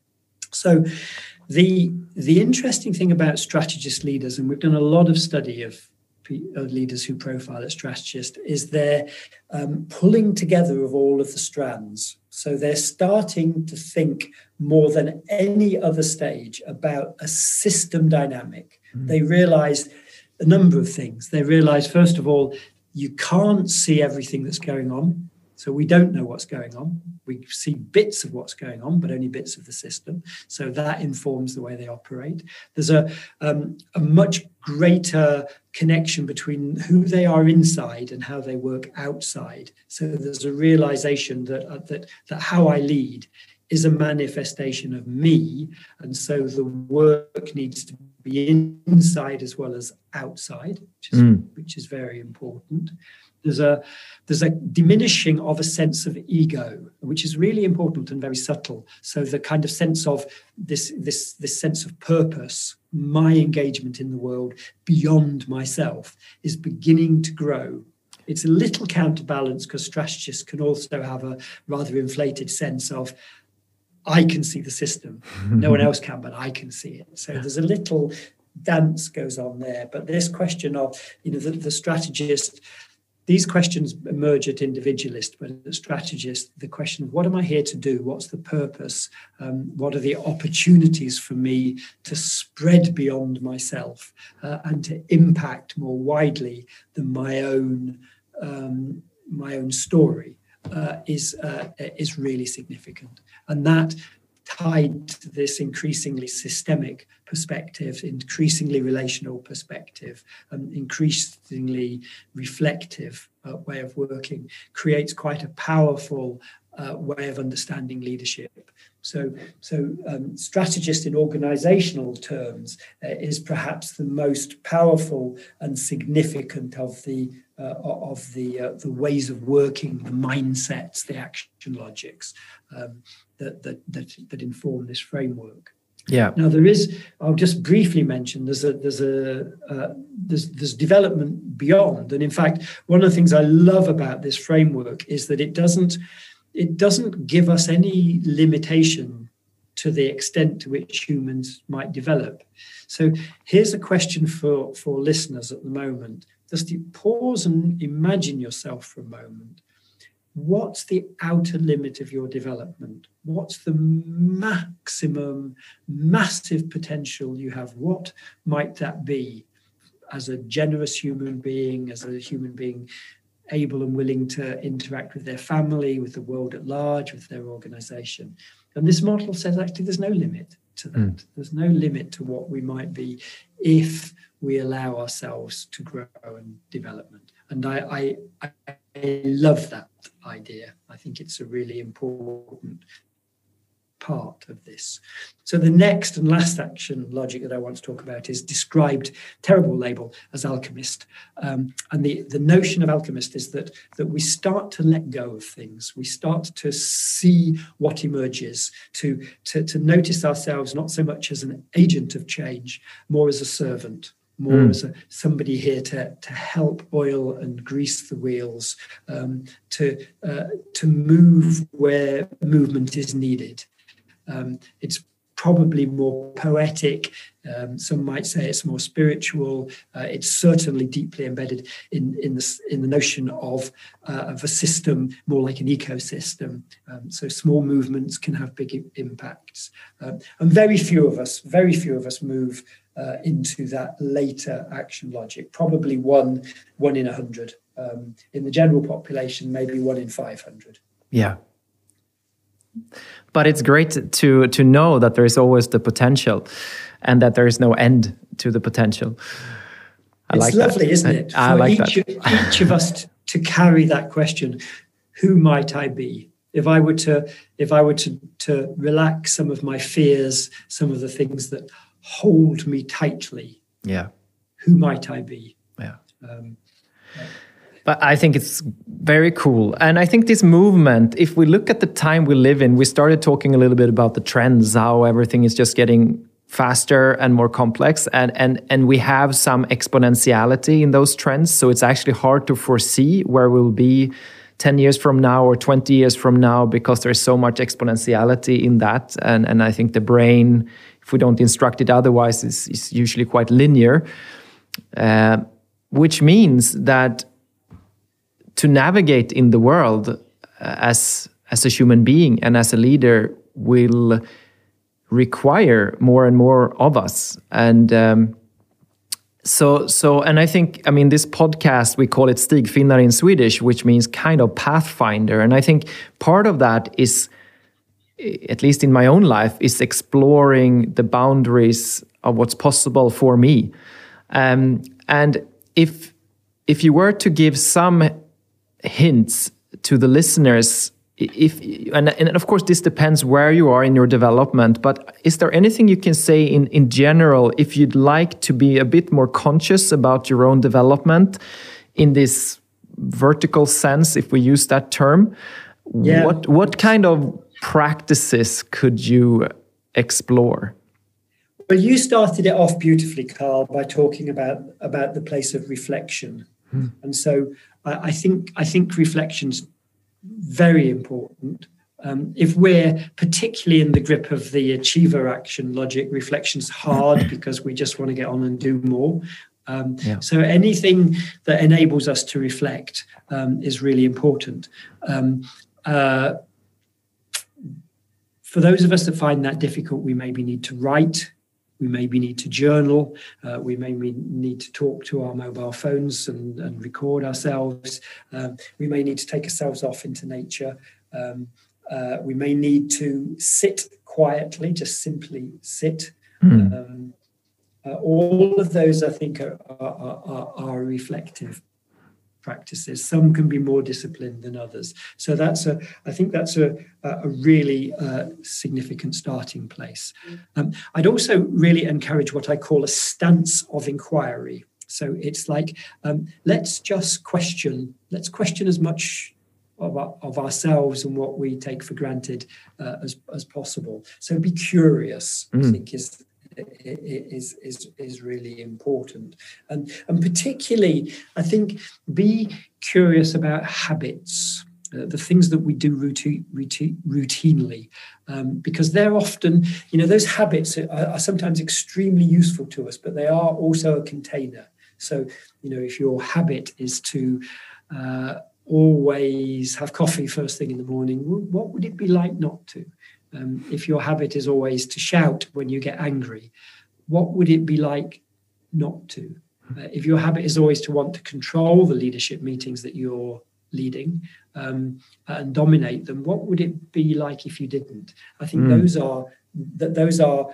So the, the interesting thing about strategist leaders, and we've done a lot of study of leaders who profile as strategists, is they're um, pulling together of all of the strands. So they're starting to think more than any other stage about a system dynamic. Mm. They realize a number of things. They realize, first of all, you can't see everything that's going on. So we don't know what's going on. We see bits of what's going on, but only bits of the system. So that informs the way they operate. There's a, um, a much greater connection between who they are inside and how they work outside. So there's a realization that, uh, that, that how I lead is a manifestation of me. And so the work needs to be inside as well as outside, which is, mm. which is very important. There's a there's a diminishing of a sense of ego, which is really important and very subtle. So the kind of sense of this this this sense of purpose, my engagement in the world beyond myself, is beginning to grow. It's a little counterbalanced because strategists can also have a rather inflated sense of, I can see the system, no one else can, but I can see it. So there's a little dance goes on there. But this question of, you know, the, the strategist. These questions emerge at individualist, but at strategist, the question of what am I here to do? What's the purpose? Um, what are the opportunities for me to spread beyond myself uh, and to impact more widely than my own um, my own story uh, is uh, is really significant, and that tied to this increasingly systemic perspective, increasingly relational perspective, and increasingly reflective uh, way of working, creates quite a powerful uh, way of understanding leadership. So, so um, strategist in organizational terms uh, is perhaps the most powerful and significant of the uh, of the uh, the ways of working, the mindsets, the action logics um, that, that that that inform this framework.
Yeah.
Now there is. I'll just briefly mention. There's a there's a uh, there's there's development beyond, and in fact, one of the things I love about this framework is that it doesn't it doesn't give us any limitation to the extent to which humans might develop. So here's a question for for listeners at the moment. Just pause and imagine yourself for a moment. What's the outer limit of your development? What's the maximum, massive potential you have? What might that be as a generous human being, as a human being able and willing to interact with their family, with the world at large, with their organization? And this model says actually there's no limit to that. Mm. There's no limit to what we might be if we allow ourselves to grow and development. And I, I, I love that idea. I think it's a really important part of this. So the next and last action logic that I want to talk about is described, terrible label, as alchemist. Um, and the, the notion of alchemist is that, that we start to let go of things. We start to see what emerges, to, to, to notice ourselves not so much as an agent of change, more as a servant. More mm. as a, somebody here to, to help oil and grease the wheels, um, to uh, to move where movement is needed. Um, it's probably more poetic. Um, some might say it's more spiritual. Uh, it's certainly deeply embedded in in the in the notion of uh, of a system, more like an ecosystem. Um, so small movements can have big impacts, uh, and very few of us, very few of us move uh, into that later action logic. Probably one one in a hundred. Um, in the general population, maybe one in five hundred.
Yeah. But it's great to to know that there is always the potential, and that there is no end to the potential. I
it's
like
lovely,
that.
isn't it? For
I like
each,
that.
each of us to, to carry that question: who might I be? If I were to, if I were to to relax some of my fears, some of the things that hold me tightly.
Yeah.
Who might I be?
Yeah.
Um, yeah.
But I think it's very cool. And I think this movement, if we look at the time we live in, we started talking a little bit about the trends, how everything is just getting faster and more complex, and and and we have some exponentiality in those trends, so it's actually hard to foresee where we'll be ten years from now or twenty years from now, because there's so much exponentiality in that. And and I think the brain, if we don't instruct it otherwise, is, is usually quite linear, uh, which means that to navigate in the world uh, as as a human being and as a leader will require more and more of us. And um, so, so, and I think, I mean, this podcast, we call it Stigfinnare in Swedish, which means kind of pathfinder. And I think part of that is, at least in my own life, is exploring the boundaries of what's possible for me. Um, and if if you were to give some hints to the listeners, if and, and of course this depends where you are in your development, but is there anything you can say in, in general, if you'd like to be a bit more conscious about your own development in this vertical sense, if we use that term? Yeah. What what kind of practices could you explore?
Well, you started it off beautifully, Carl, by talking about, about the place of reflection. Hmm. And so I, I think I think reflection's very important. Um, if we're particularly in the grip of the achiever action logic, reflection's hard because we just want to get on and do more. Um, yeah. So anything that enables us to reflect um, is really important. Um, uh, for those of us that find that difficult, we maybe need to write. We maybe need to journal. Uh, we maybe need to talk to our mobile phones and, and record ourselves. Um, we may need to take ourselves off into nature. Um, uh, we may need to sit quietly, just simply sit. Mm. Um, uh, all of those, I think, are, are, are, are reflective practices. Some can be more disciplined than others. So that's a, I think that's a, a really uh, significant starting place. Um, I'd also really encourage what I call a stance of inquiry. So it's like, um, let's just question, let's question as much of, our, of ourselves and what we take for granted uh, as, as possible. So be curious, mm. I think is is is is really important, and and particularly I think be curious about habits, uh, the things that we do routine, routine, routinely, um, because they're often, you know, those habits are, are sometimes extremely useful to us, but they are also a container. So, you know, if your habit is to uh, always have coffee first thing in the morning, what would it be like not to? Um, if your habit is always to shout when you get angry, what would it be like not to? Uh, if your habit is always to want to control the leadership meetings that you're leading um, and dominate them, what would it be like if you didn't? I think mm. those are that those are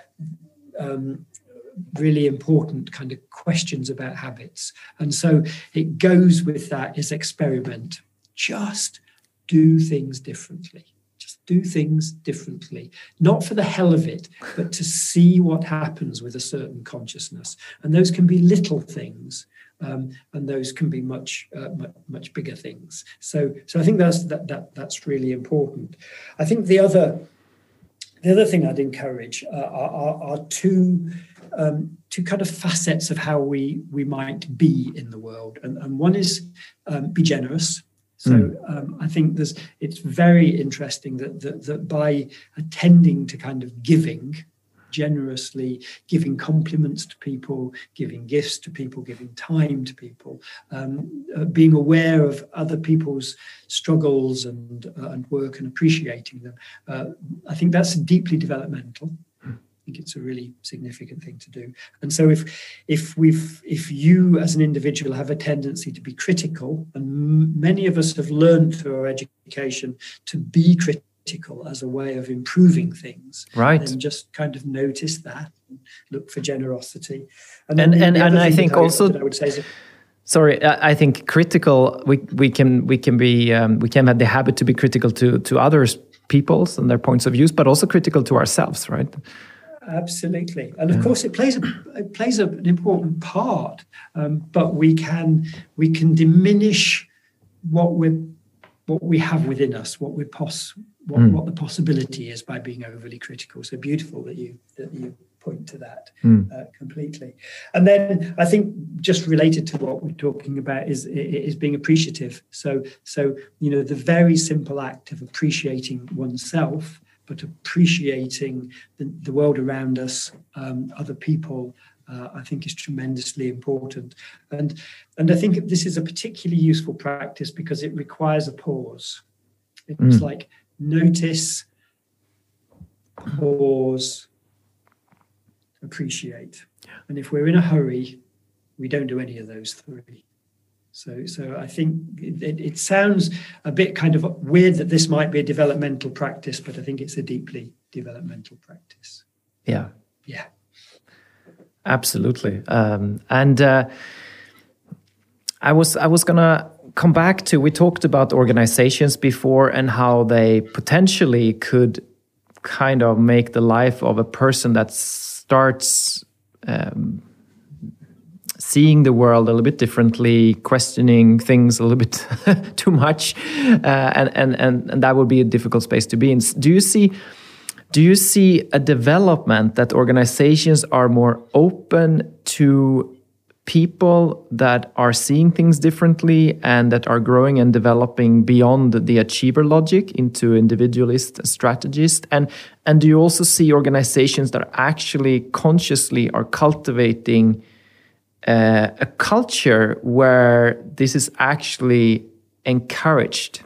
um, really important kind of questions about habits. And so it goes with that is experiment. Just do things differently. Do things differently, not for the hell of it, but to see what happens with a certain consciousness. And those can be little things, um, and those can be much, uh, much, much bigger things. So, so I think that's that, that that's really important. I think the other, the other thing I'd encourage uh, are, are, are two, um, two kind of facets of how we we might be in the world, and, and one is um, be generous. So um, I think there's, it's very interesting that, that that by attending to kind of giving, generously giving compliments to people, giving gifts to people, giving time to people, um, uh, being aware of other people's struggles and uh, and work and appreciating them, uh, I think that's deeply developmental. I think it's a really significant thing to do. And so if if we've if you as an individual have a tendency to be critical, and m- many of us have learned through our education to be critical as a way of improving things,
right?
And just kind of notice that, and look for generosity.
And and, and, and I think
I,
also
I would say is,
sorry, I think critical. We we can we can be um, we can have the habit to be critical to to others, peoples and their points of views, but also critical to ourselves, right?
Absolutely, and of yeah. course, it plays a, it plays a, an important part. Um, but we can we can diminish what we what we have within us, what we pos what, mm. what the possibility is by being overly critical. So beautiful that you that you point to that
mm.
uh, completely. And then I think just related to what we're talking about is is being appreciative. So so you know, the very simple act of appreciating oneself, but appreciating the, the world around us, um, other people, uh, I think is tremendously important. And and I think this is a particularly useful practice because it requires a pause. It's mm. like notice, pause, appreciate. And if we're in a hurry, we don't do any of those three. So, so I think it, it sounds a bit kind of weird that this might be a developmental practice, but I think it's a deeply developmental practice.
Yeah.
Yeah.
Absolutely. Um, and uh, I was I was gonna come back to, we talked about organizations before and how they potentially could kind of make the life of a person that starts um, seeing the world a little bit differently, questioning things a little bit too much, uh, and, and and and that would be a difficult space to be in. Do you see? Do you see a development that organizations are more open to people that are seeing things differently and that are growing and developing beyond the achiever logic into individualist strategist? And and do you also see organizations that actually consciously are cultivating uh, a culture where this is actually encouraged?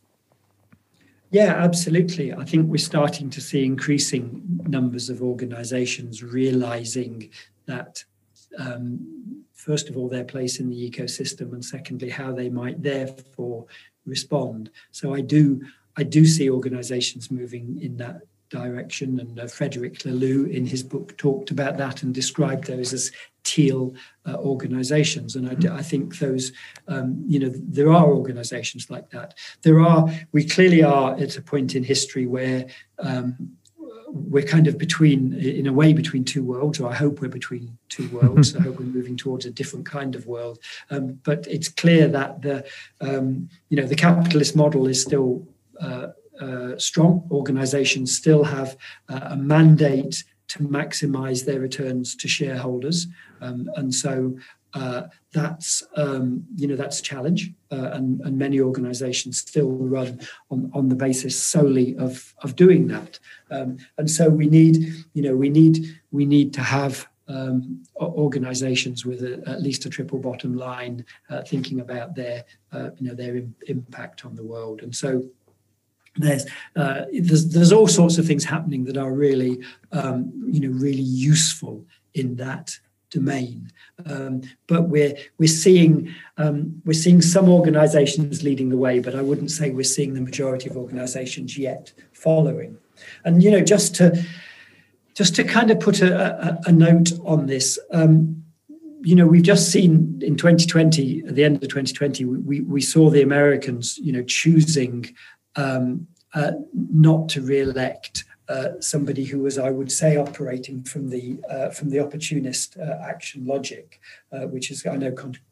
Yeah, absolutely. I think we're starting to see increasing numbers of organizations realizing that, um, first of all, their place in the ecosystem, and secondly, how they might therefore respond. So I do, I do see organizations moving in that direction. And uh, Frederick Laloux, in his book, talked about that and described those as teal uh, organizations. And I, I think those, um, you know, there are organizations like that. There are, we clearly are at a point in history where um, we're kind of between, in a way, between two worlds, or I hope we're between two worlds. I hope we're moving towards a different kind of world. Um, but it's clear that the, um, you know, the capitalist model is still uh, uh, strong. Organizations still have uh, a mandate to maximize their returns to shareholders. Um, and so uh, that's, um, you know, that's a challenge. Uh, and, and many organizations still run on, on the basis solely of, of doing that. Um, and so we need, you know, we need, we need to have um, organizations with a, at least a triple bottom line, uh, thinking about their, uh, you know, their im- impact on the world. And so There's, uh, there's there's all sorts of things happening that are really, um, you know, really useful in that domain. Um, but we're we're seeing um, we're seeing some organisations leading the way, but I wouldn't say we're seeing the majority of organisations yet following. And you know, just to just to kind of put a, a, a note on this. Um, You know, we've just seen in twenty twenty, at the end of twenty twenty, we we saw the Americans, you know, choosing Um, uh, not to re-elect uh, somebody who was, I would say, operating from the uh, from the opportunist uh, action logic, uh, which is, I know, con-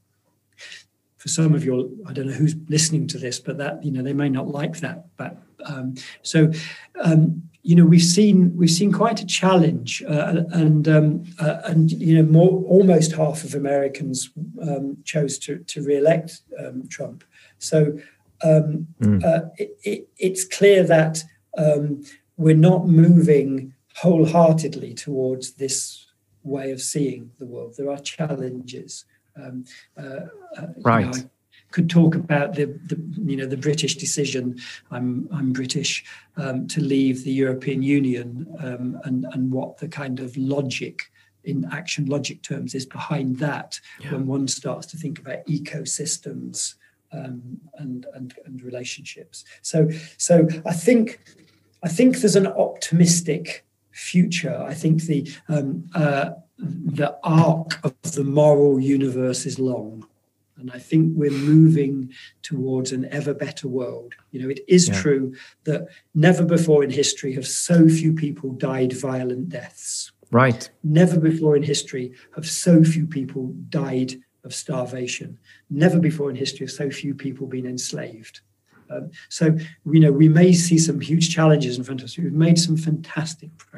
for some of your, I don't know who's listening to this, but that, you know, they may not like that. But um, so, um, you know, we've seen we've seen quite a challenge, uh, and um, uh, and you know, more almost half of Americans um, chose to to re-elect um, Trump. So. Um, mm. uh, it, it, it's clear that um, we're not moving wholeheartedly towards this way of seeing the world. There are challenges. Um, uh, uh,
right.
You know, I could talk about the, the, you know, the British decision. I'm I'm British um, to leave the European Union, um, and and what the kind of logic in action logic terms is behind that. Yeah. When one starts to think about ecosystems. Um, and, and and relationships. So so I think I think there's an optimistic future. I think the um, uh, the arc of the moral universe is long, and I think we're moving towards an ever better world. You know, it is yeah. true that never before in history have so few people died violent deaths.
Right.
Never before in history have so few people died of starvation. Never before in history have so few people been enslaved. Um, so, you know, we may see some huge challenges in front of us. We've made some fantastic progress.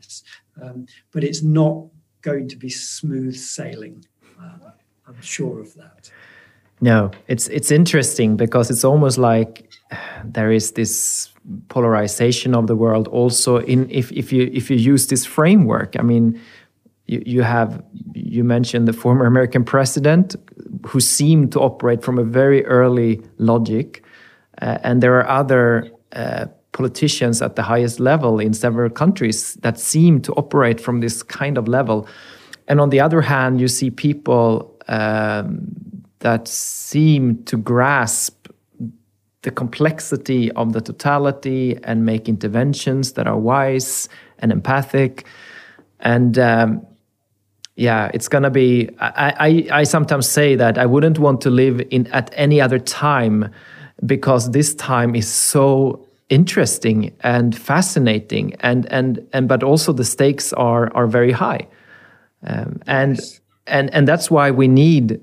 this, um, but it's not going to be smooth sailing. Uh, I'm sure of that.
No, it's it's interesting because it's almost like there is this polarization of the world also in if, if you if you use this framework. I mean, you, you have you mentioned the former American president who seemed to operate from a very early logic, uh, and there are other uh, politicians at the highest level in several countries that seem to operate from this kind of level. And on the other hand, you see people um, that seem to grasp the complexity of the totality and make interventions that are wise and empathic. And um, yeah, it's going to be, I, I, I sometimes say that I wouldn't want to live in at any other time, because this time is so interesting and fascinating, and and and but also the stakes are are very high, um, and yes. and and that's why we need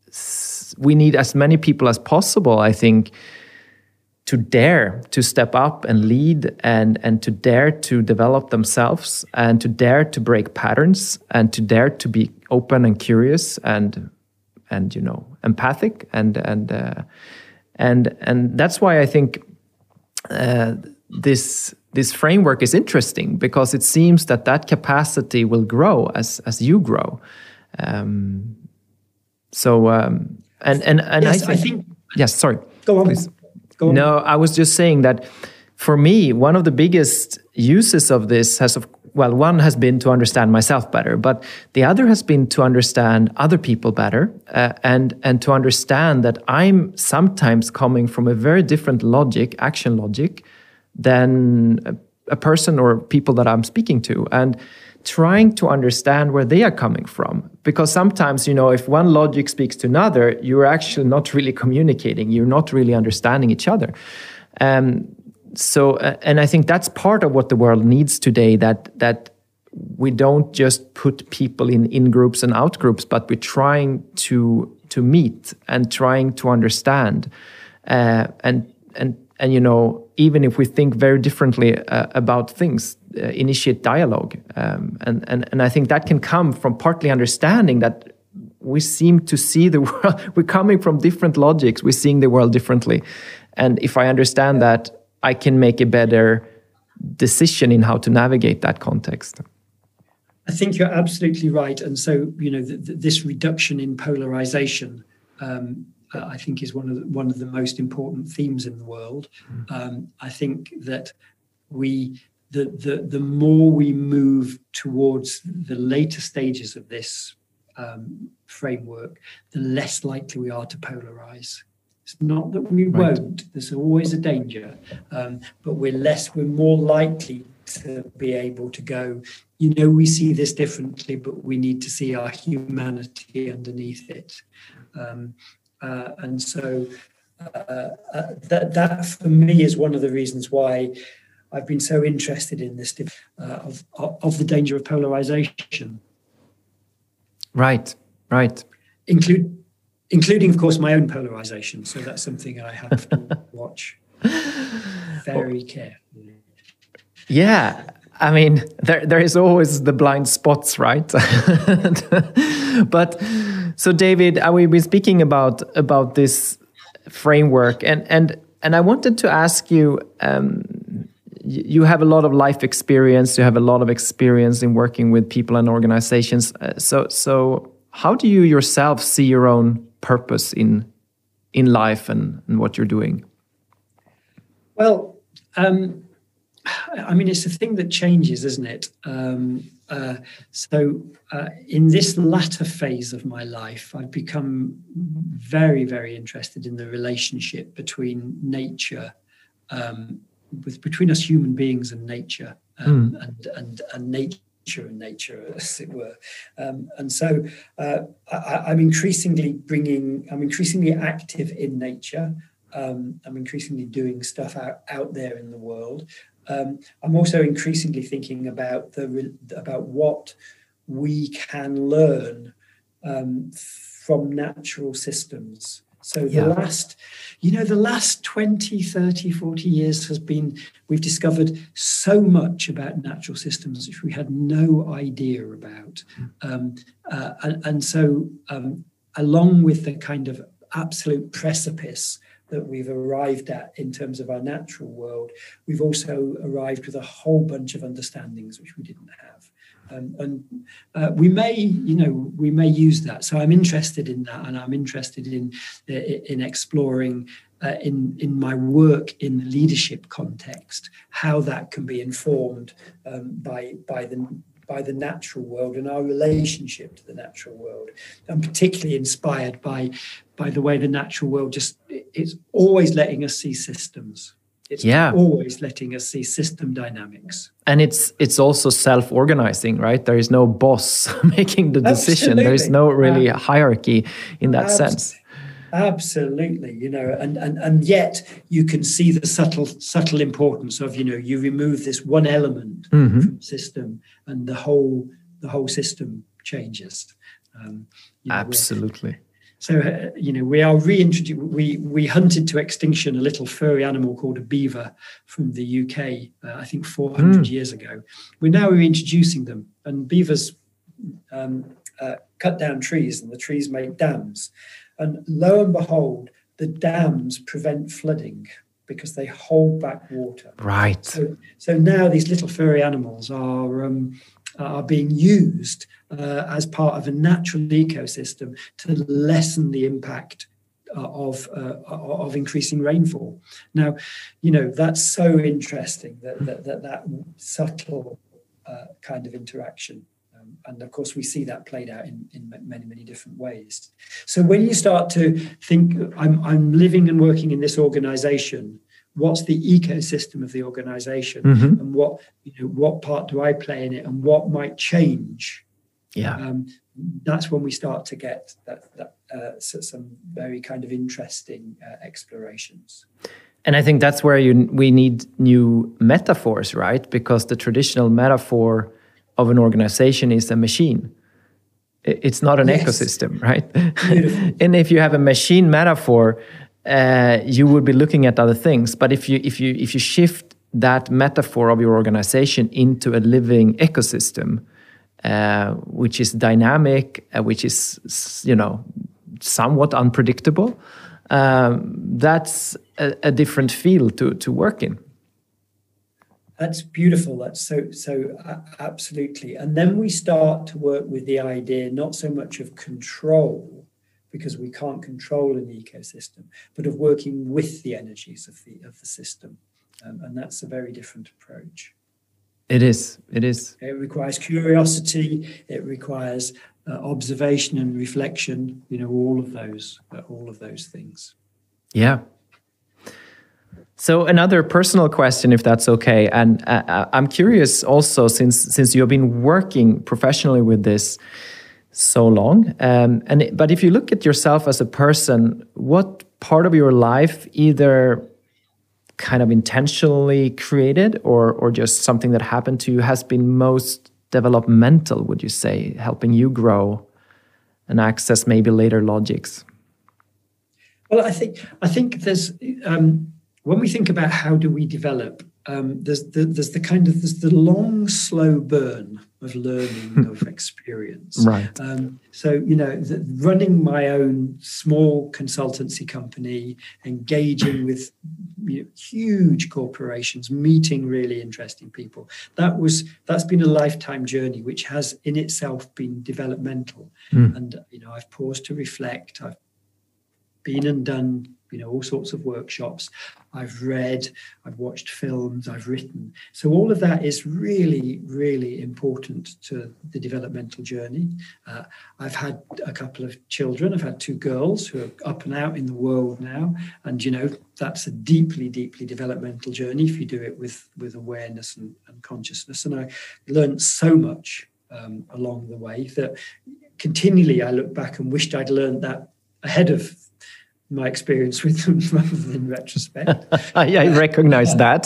we need as many people as possible, I think, to dare to step up and lead, and and to dare to develop themselves, and to dare to break patterns, and to dare to be open and curious and and you know empathic, and and uh, and and that's why I think uh, this this framework is interesting, because it seems that that capacity will grow as as you grow. Um, so um, and and and
yes,
I think,
I think
yes, sorry,
go on.
Please. No, I was just saying that for me, one of the biggest uses of this has, of, well, one has been to understand myself better, but the other has been to understand other people better, uh, and and to understand that I'm sometimes coming from a very different logic, action logic, than a, a person or people that I'm speaking to, and trying to understand where they are coming from. Because sometimes, you know, if one logic speaks to another, you're actually not really communicating. You're not really understanding each other. Um, so, uh, and I think that's part of what the world needs today, that that we don't just put people in in groups and out groups, but we're trying to to meet and trying to understand. Uh, and and and, you know, even if we think very differently uh, about things, uh, initiate dialogue. Um, and, and, and I think that can come from partly understanding that we seem to see the world, we're coming from different logics, we're seeing the world differently. And if I understand that, I can make a better decision in how to navigate that context.
I think you're absolutely right. And so, you know, th- th- this reduction in polarization, um, Uh, I think is one of the, one of the most important themes in the world. Um, I think that we, the, the the more we move towards the later stages of this um, framework, the less likely we are to polarize. It's not that we right. won't. There's always a danger, um, but we're less. We're more likely to be able to go, you know, we see this differently, but we need to see our humanity underneath it. Um, Uh, and so uh, uh, that, that for me is one of the reasons why I've been so interested in this uh, of, of the danger of polarization.
Right, right.
Include, including, of course, my own polarization. So that's something I have to watch very carefully.
Yeah. I mean, there there is always the blind spots, right? But so, David, we've been speaking about about this framework, and and and I wanted to ask you. Um, you have a lot of life experience. You have a lot of experience in working with people and organizations. Uh, so so, how do you yourself see your own purpose in in life and, and what you're doing?
Well. Um, I mean, it's a thing that changes, isn't it? Um, uh, so uh, in this latter phase of my life, I've become very, very interested in the relationship between nature, um, with between us human beings and nature, um, mm. and, and, and nature and nature, as it were. Um, and so uh, I, I'm increasingly bringing, I'm increasingly active in nature. Um, I'm increasingly doing stuff out, out there in the world. Um, I'm also increasingly thinking about the about what we can learn um, from natural systems. So the
Yeah.
last, you know, the last twenty, thirty, forty years has been, we've discovered so much about natural systems which we had no idea about. Um, uh, and, and so um, along with the kind of absolute precipice that we've arrived at in terms of our natural world, we've also arrived with a whole bunch of understandings which we didn't have. Um, and uh, we may, you know, we may use that. So I'm interested in that, and I'm interested in in exploring uh, in in my work in the leadership context how that can be informed um, by by the by the natural world and our relationship to the natural world. I'm particularly inspired by by the way the natural world just it's always letting us see systems. It's
Yeah.
always letting us see system dynamics.
And it's it's also self-organizing, right? There is no boss making the decision.
Absolutely.
There is no really
Uh,
hierarchy in that
Abs-
sense.
Absolutely, you know, and, and and yet you can see the subtle subtle importance of, you know, you remove this one element
Mhm.
from the system and the whole the whole system changes. Um, you know, we're-
Absolutely.
So, uh, you know, we are reintroduced, we, we hunted to extinction a little furry animal called a beaver from the U K, uh, I think four hundred
Mm.
years ago. We're now reintroducing them, and beavers um, uh, cut down trees, and the trees make dams. And lo and behold, the dams prevent flooding because they hold back water.
Right.
So, so now these little furry animals are um, are being used uh, as part of a natural ecosystem to lessen the impact uh, of uh, of increasing rainfall. Now, you know, that's so interesting that that that, that subtle uh, kind of interaction. Um, and of course, we see that played out in, in many, many different ways. So when you start to think, I'm, I'm living and working in this organization, what's the ecosystem of the organization,
Mhm.
and what, you know, what part do I play in it, and what might change?
Yeah.
Um, that's when we start to get that, that uh, so- some very kind of interesting uh, explorations.
And I think that's where you we need new metaphors, right? Because the traditional metaphor of an organization is a machine. I- It's not an
Yes.
ecosystem, right?
Beautiful.
And if you have a machine metaphor, uh, you would be looking at other things. But if you if you if you shift that metaphor of your organization into a living ecosystem, uh, which is dynamic, uh, which is s- you know somewhat unpredictable, um, that's a, a different field to to work in.
That's beautiful. That's so, so uh, absolutely. And then we start to work with the idea, not so much of control, because we can't control an ecosystem, but of working with the energies of the, of the system. Um, and that's a very different approach.
It is. It is.
It requires curiosity. It requires uh, observation and reflection, you know, all of those, uh, all of those things.
Yeah. So another personal question, if that's okay, and uh, I'm curious also, since since you have been working professionally with this so long, um, and it- but if you look at yourself as a person, what part of your life either kind of intentionally created or or just something that happened to you has been most developmental, would you say, helping you grow and access maybe later logics?
Well, I think I think there's um, when we think about how do we develop, um, there's the, there's the kind of there's the long, slow burn of learning of experience.
Right.
Um, so you know, the, running my own small consultancy company, engaging with you know, huge corporations, meeting really interesting people. That was that's been a lifetime journey, which has in itself been developmental.
Mm.
And you know, I've paused to reflect. I've been and done, you know, all sorts of workshops. I've read, I've watched films, I've written. So all of that is really, really important to the developmental journey. Uh, I've had a couple of children. I've had two girls who are up and out in the world now. And, you know, that's a deeply, deeply developmental journey if you do it with, with awareness and, and consciousness. And I learned so much um, along the way that continually I look back and wished I'd learned that ahead of my experience with them rather than retrospect.
I recognize that.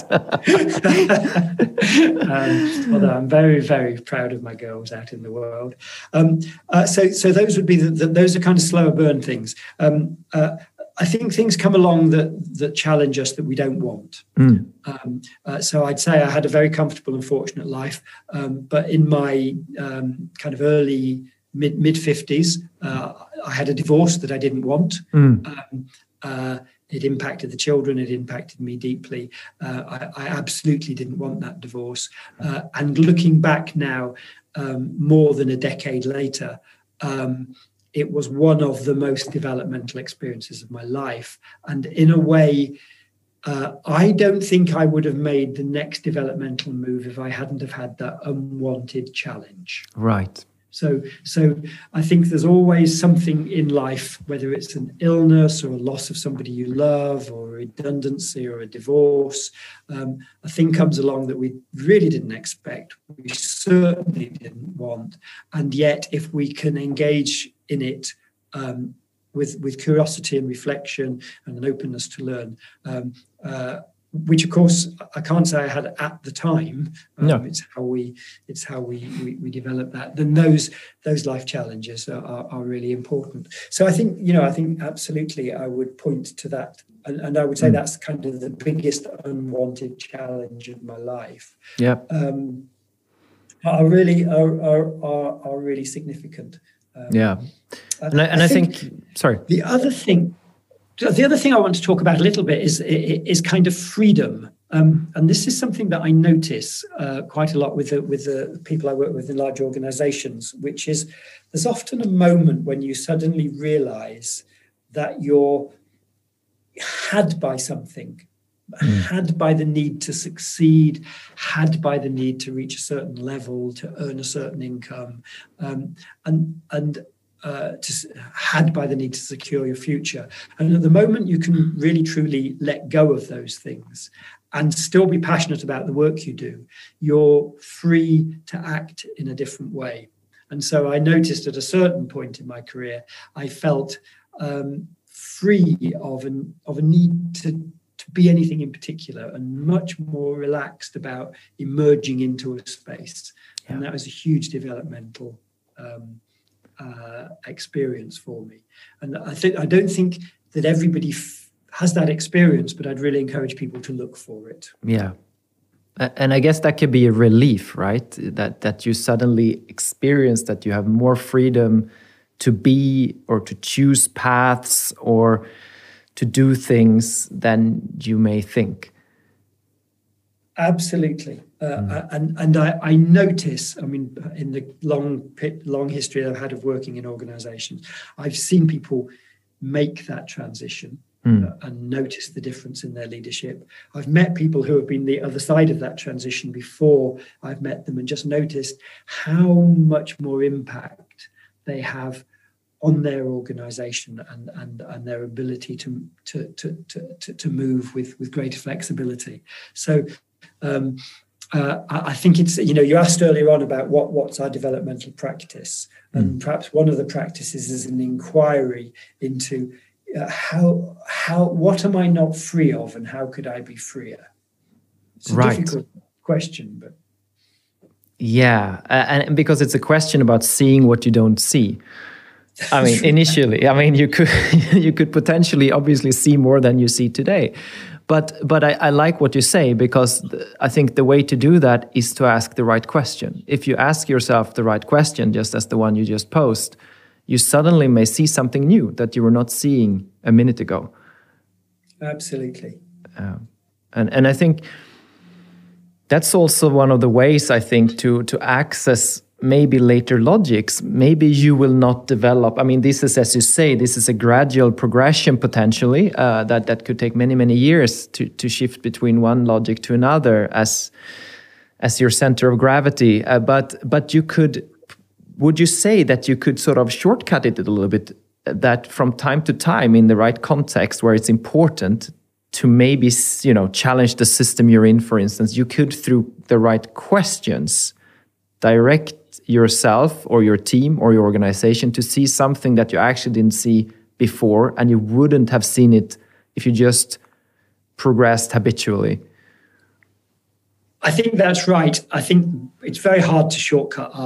um, although I'm very, very proud of my girls out in the world. Um, uh, so, so those would be the, the, those are kind of slower burn things. Um, uh, I think things come along that that challenge us that we don't want.
Mm.
Um, uh, so I'd say I had a very comfortable and fortunate life, um, but in my um, kind of early mid mid fifties, uh, I had a divorce that I didn't want.
Mm.
Um, uh, it impacted the children. It impacted me deeply. Uh, I, I absolutely didn't want that divorce. Uh, and looking back now, um, more than a decade later. Um, It was one of the most developmental experiences of my life. And in a way, uh, I don't think I would have made the next developmental move if I hadn't have had that unwanted challenge.
Right.
So, so I think there's always something in life, whether it's an illness or a loss of somebody you love or a redundancy or a divorce, um, a thing comes along that we really didn't expect, we certainly didn't want. And yet, if we can engage in it um, with with curiosity and reflection and an openness to learn, um, uh, which of course I can't say I had at the time. Um,
no.
It's how we it's how we, we we develop that. Then those those life challenges are, are, are really important. So I think you know I think absolutely I would point to that, and, and I would say mm. that's kind of the biggest unwanted challenge of my life.
Yeah,
um, are really are are are, are really significant. Um,
yeah, and I, and I, I think, think sorry.
The other thing, the other thing I want to talk about a little bit is is kind of freedom, um, and this is something that I notice uh, quite a lot with the, with the people I work with in large organisations, which is there's often a moment when you suddenly realise that you're had by something. Mm. Had by the need to succeed, had by the need to reach a certain level, to earn a certain income, um, and and uh, to, had by the need to secure your future. And at the moment you can really truly let go of those things and still be passionate about the work you do, you're free to act in a different way. And so I noticed at a certain point in my career, I felt um, free of an of a need to to be anything in particular, and much more relaxed about emerging into a space. Yeah. And that was a huge developmental um, uh, experience for me. And I think I don't think that everybody f- has that experience, but I'd really encourage people to look for it.
Yeah. And I guess that could be a relief, right? That that you suddenly experience that you have more freedom to be or to choose paths or to do things than you may think.
Absolutely. Uh, mm. And and I, I notice, I mean, in the long long history I've had of working in organizations, I've seen people make that transition mm. uh, and notice the difference in their leadership. I've met people who have been the other side of that transition before I've met them and just noticed how much more impact they have on their organization and, and, and their ability to, to, to, to, to move with, with greater flexibility. So um, uh, I think it's, you know, you asked earlier on about what, what's our developmental practice. Mm. And perhaps one of the practices is an inquiry into uh, how, how, what am I not free of and how could I be freer? It's a
right.
difficult question, but.
Yeah, uh, and because it's a question about seeing what you don't see. I mean, initially, I mean, you could you could potentially, obviously, see more than you see today, but but I, I like what you say, because th- I think the way to do that is to ask the right question. If you ask yourself the right question, just as the one you just posed, you suddenly may see something new that you were not seeing a minute ago.
Absolutely.
Uh, and and I think that's also one of the ways, I think, to to access maybe later logics. Maybe you will not develop. I mean, this is, as you say, this is a gradual progression potentially uh, that that could take many many years to to shift between one logic to another as as your center of gravity. Uh, but but you could, would you say that you could sort of shortcut it a little bit? That from time to time, in the right context where it's important to maybe, you know, challenge the system you're in, for instance, you could, through the right questions, direct yourself or your team or your organization to see something that you actually didn't see before, and you wouldn't have seen it if you just progressed habitually.
I think that's right. I think it's very hard to shortcut our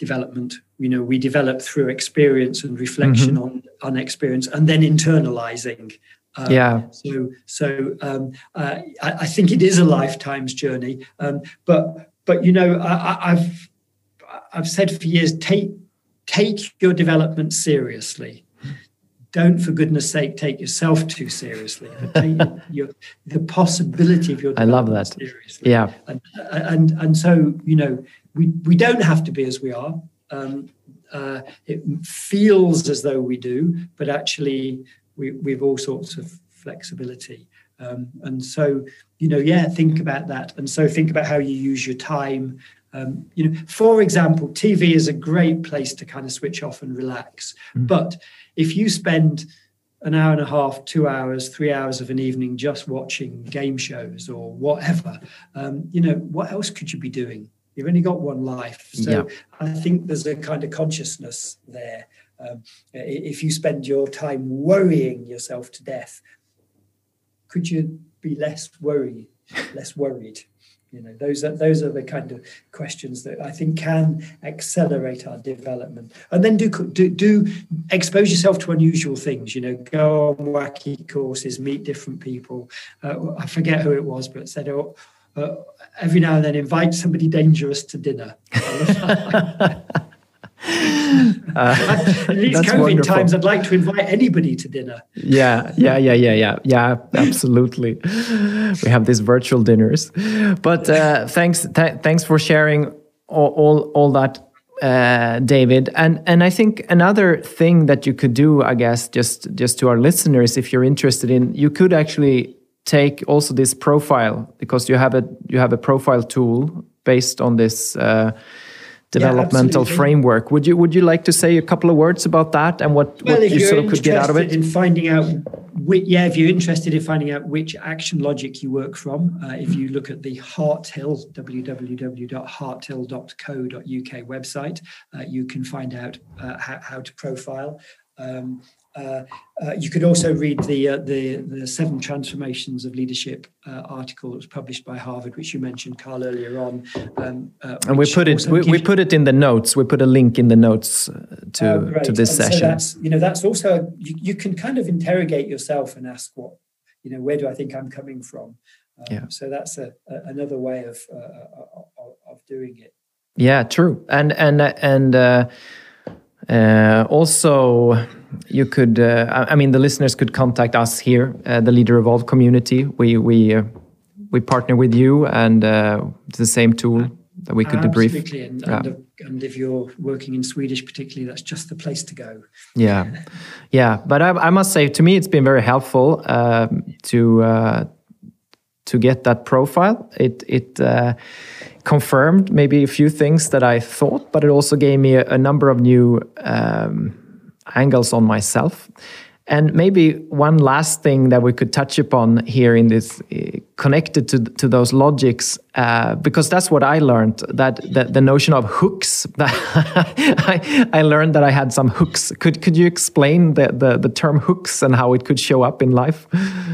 development. You know, we develop through experience and reflection mm-hmm. on on experience, and then internalizing. Um,
yeah.
So, so um, uh, I, I think it is a lifetime's journey. Um, but, but you know, I, I've I've said for years, take take your development seriously. Don't, for goodness sake, take yourself too seriously. But take your, the possibility of your
I love that.
Seriously.
Yeah.
And, and and so, you know, we, we don't have to be as we are. Um, uh, it feels as though we do, but actually we, we've all sorts of flexibility. Um, and so, you know, yeah, think about that. And so think about how you use your time. Um, you know, for example, T V is a great place to kind of switch off and relax. Mm. But if you spend an hour and a half, two hours, three hours of an evening just watching game shows or whatever, um, you know, what else could you be doing? You've only got one life. So yeah. I think there's a kind of consciousness there. Um, if you spend your time worrying yourself to death, could you be less worried, less worried? You know, those are those are the kind of questions that I think can accelerate our development. And then do do, do expose yourself to unusual things. You know, go on wacky courses, meet different people. Uh, I forget who it was, but said, oh, uh, every now and then invite somebody dangerous to dinner. Uh, in these COVID wonderful. times, I'd like to invite anybody to dinner.
Yeah, yeah, yeah, yeah, yeah, yeah. Absolutely, we have these virtual dinners. But uh, thanks, th- thanks for sharing all, all, all that, uh, David. And and I think another thing that you could do, I guess, just just to our listeners, if you're interested in, you could actually take also this profile, because you have a you have a profile tool based on this. Uh, developmental yeah, framework. Would you would you like to say a couple of words about that and what,
well,
what you sort of could get out of it?
In finding out, which, yeah, if you're interested in finding out which action logic you work from, uh, if you look at the Harthill, w w w dot harthill dot co dot u k website, uh, you can find out uh, how, how to profile. Um, Uh, uh, you could also read the, uh, the the Seven Transformations of Leadership uh, article that was published by Harvard, which you mentioned, Carl, earlier on. Um, uh,
and we put it we, we put it in the notes. We put a link in the notes to
oh,
to this
and
session.
So that's you know that's also you, you can kind of interrogate yourself and ask what you know where do I think I'm coming from. Um,
yeah.
So that's a, a another way of uh, of, of doing it.
Yeah, true. And and and. Uh, Uh, also, you could, uh, I mean, the listeners could contact us here, uh, the Leader Evolve community. We we uh, we partner with you, and uh, it's the same tool that we could
Absolutely.
debrief.
Absolutely, and,
yeah.
and, and if you're working in Swedish particularly, that's just the place to go.
Yeah, yeah. But I, I must say, to me, it's been very helpful uh, to uh, to get that profile. It it. Uh, confirmed maybe a few things that I thought, but it also gave me a, a number of new um, angles on myself. And maybe one last thing that we could touch upon here in this, uh, connected to to those logics, uh, because that's what I learned, that, that the notion of hooks, that I, I learned that I had some hooks. Could could you explain the, the, the term hooks and how it could show up in life?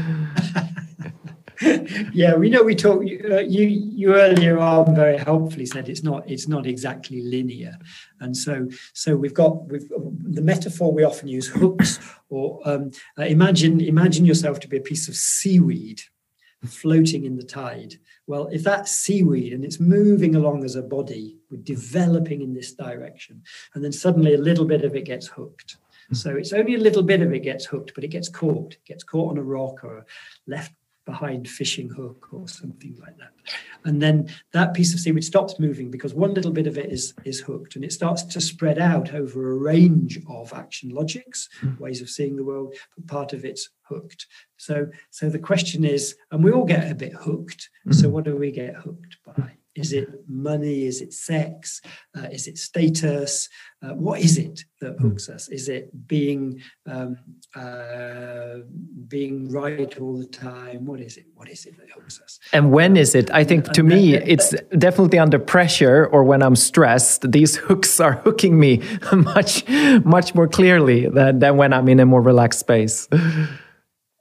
Yeah, we know we talked. Uh, you you earlier on very helpfully said it's not it's not exactly linear, and so so we've got we've the metaphor we often use hooks or um, uh, imagine imagine yourself to be a piece of seaweed floating in the tide. Well, if that's seaweed and it's moving along as a body, we're developing in this direction, and then suddenly a little bit of it gets hooked. So it's only a little bit of it gets hooked, but it gets caught. It gets caught on a rock or left behind fishing hook or something like that. And then that piece of seaweed stops moving because one little bit of it is, is hooked, and it starts to spread out over a range of action logics, mm. ways of seeing the world, but part of it's hooked. So, so the question is, and we all get a bit hooked. Mm. So what do we get hooked by? Is it money? Is it sex? Uh, is it status? Uh, what is it that hooks us? Is it being um, uh, being right all the time? What is it? What is it that hooks us?
And when is it? I think to me, it's definitely under pressure or when I'm stressed. These hooks are hooking me much, much more clearly than, than when I'm in a more relaxed space.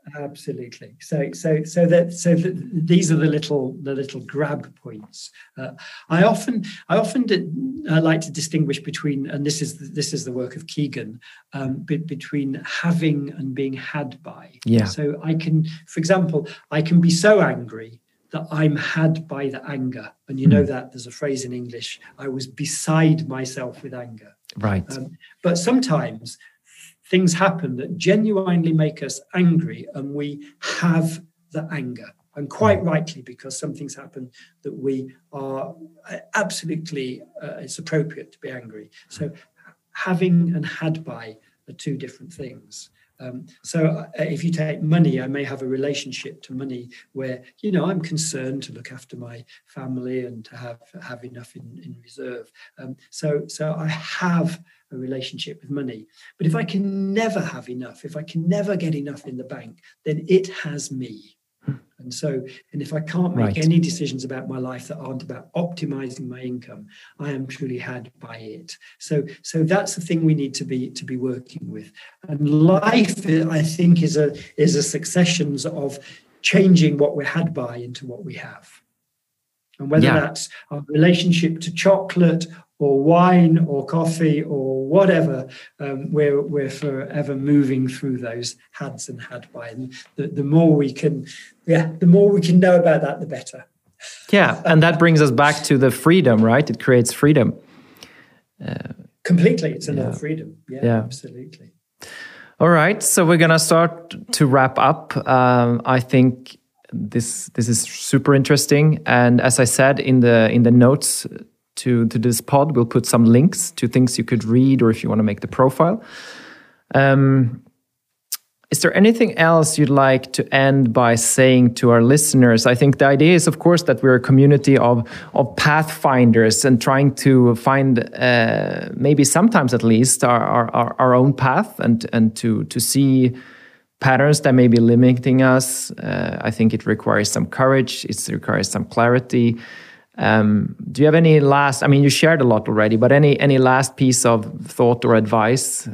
Absolutely. So, so, so that, so that these are the little, the little grab points. Uh, I often, I often did, uh, like to distinguish between, and this is this is the work of Kegan, um, be, between having and being had by.
Yeah.
So I can, for example, I can be so angry that I'm had by the anger, and you know
Mm.
that there's a phrase in English: I was beside myself with anger.
Right.
Um, but sometimes things happen that genuinely make us angry, and we have the anger. And quite rightly, because something's happened that we are absolutely, uh, it's appropriate to be angry. So having and had by are two different things. Um, so uh, if you take money, I may have a relationship to money where, you know, I'm concerned to look after my family and to have have enough in, in reserve. Um, so, so I have a relationship with money. But if I can never have enough, if I can never get enough in the bank, then it has me. And so, and if I can't make
Right.
any decisions about my life that aren't about optimizing my income, I am truly had by it. So, so that's the thing we need to be to be working with. And life, I think, is a is a successions of changing what we're had by into what we have. And whether
Yeah.
that's our relationship to chocolate or wine or coffee or whatever, um, we're we're forever moving through those hads and had by. And the, the more we can, yeah, the more we can know about that, the better.
Yeah, and that brings us back to the freedom, right? It creates freedom.
Completely, it's another
Yeah.
freedom. Yeah,
Yeah.
absolutely.
All right, so we're gonna start to wrap up. Um, I think this this is super interesting, and as I said in the in the notes to to this pod, we'll put some links to things you could read, or if you want to make the profile. Um, is there anything else you'd like to end by saying to our listeners? I think the idea is, of course, that we're a community of of pathfinders and trying to find, uh, maybe sometimes at least, our, our, our own path and and to to see patterns that may be limiting us. Uh, I think it requires some courage. It requires some clarity. Um, do you have any last? I mean, you shared a lot already, but any any last piece of thought or advice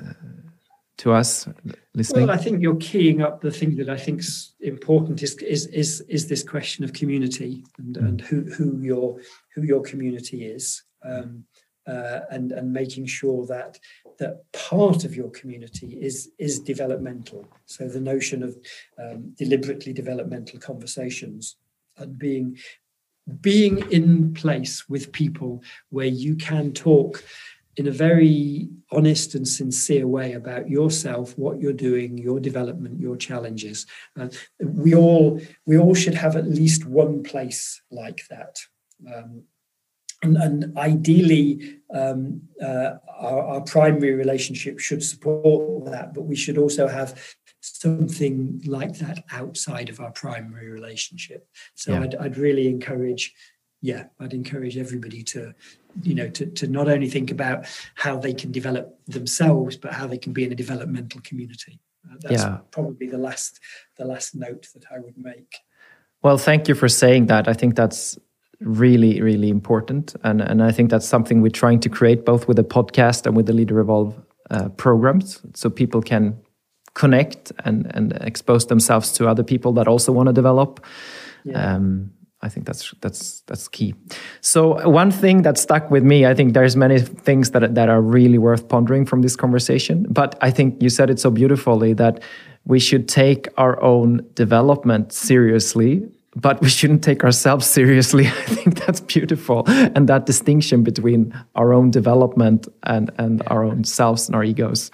to us listening?
Well, I think you're keying up the thing that I think's important is is is is this question of community and, mm. and who who your who your community is, um, uh, and and making sure that that part of your community is is developmental. So the notion of um, deliberately developmental conversations and being being in place with people where you can talk in a very honest and sincere way about yourself, what you're doing, your development, your challenges. Uh, we all we all should have at least one place like that. Um, and, and ideally, um, uh, our, our primary relationship should support that, but we should also have something like that outside of our primary relationship. So yeah. I'd, I'd really encourage, yeah, I'd encourage everybody to, you know, to, to not only think about how they can develop themselves, but how they can be in a developmental community. Uh, that's yeah. probably the last, the last note that I would make.
Well, thank you for saying that. I think that's really, really important. And, and I think that's something we're trying to create both with the podcast and with the Leader Evolve uh, programs, so people can connect and, and expose themselves to other people that also want to develop. Yeah. Um, I think that's that's that's key. So one thing that stuck with me, I think there's many things that that are really worth pondering from this conversation. But I think you said it so beautifully that we should take our own development seriously, but we shouldn't take ourselves seriously. I think that's beautiful, and that distinction between our own development and and yeah. our own selves and our egos.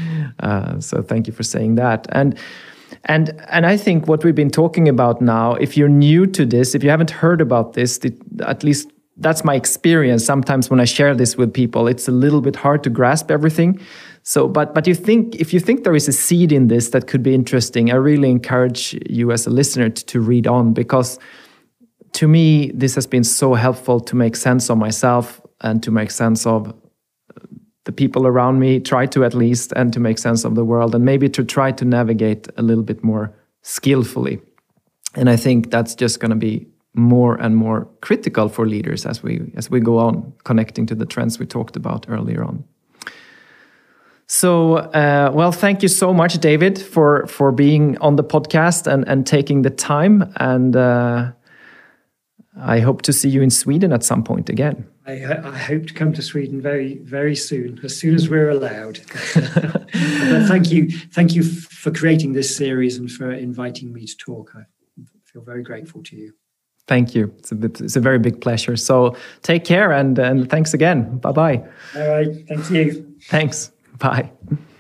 Uh, so thank you for saying that. And. And and I think what we've been talking about now, if you're new to this, if you haven't heard about this, it, at least that's my experience. Sometimes when I share this with people, it's a little bit hard to grasp everything. So, but but you think if you think there is a seed in this that could be interesting, I really encourage you as a listener to, to read on, because to me this has been so helpful to make sense of myself and to make sense of the people around me, try to at least, and to make sense of the world, and maybe to try to navigate a little bit more skillfully. And I think that's just going to be more and more critical for leaders as we as we go on connecting to the trends we talked about earlier on. So, uh, well, thank you so much, David, for for being on the podcast and and taking the time. And uh, I hope to see you in Sweden at some point again.
I, I hope to come to Sweden very, very soon, as soon as we're allowed. But thank you, thank you for creating this series and for inviting me to talk. I feel very grateful to you.
Thank you. It's a bit, it's a very big pleasure. So take care and and thanks again. Bye bye.
All right. Thank you.
Thanks. Bye.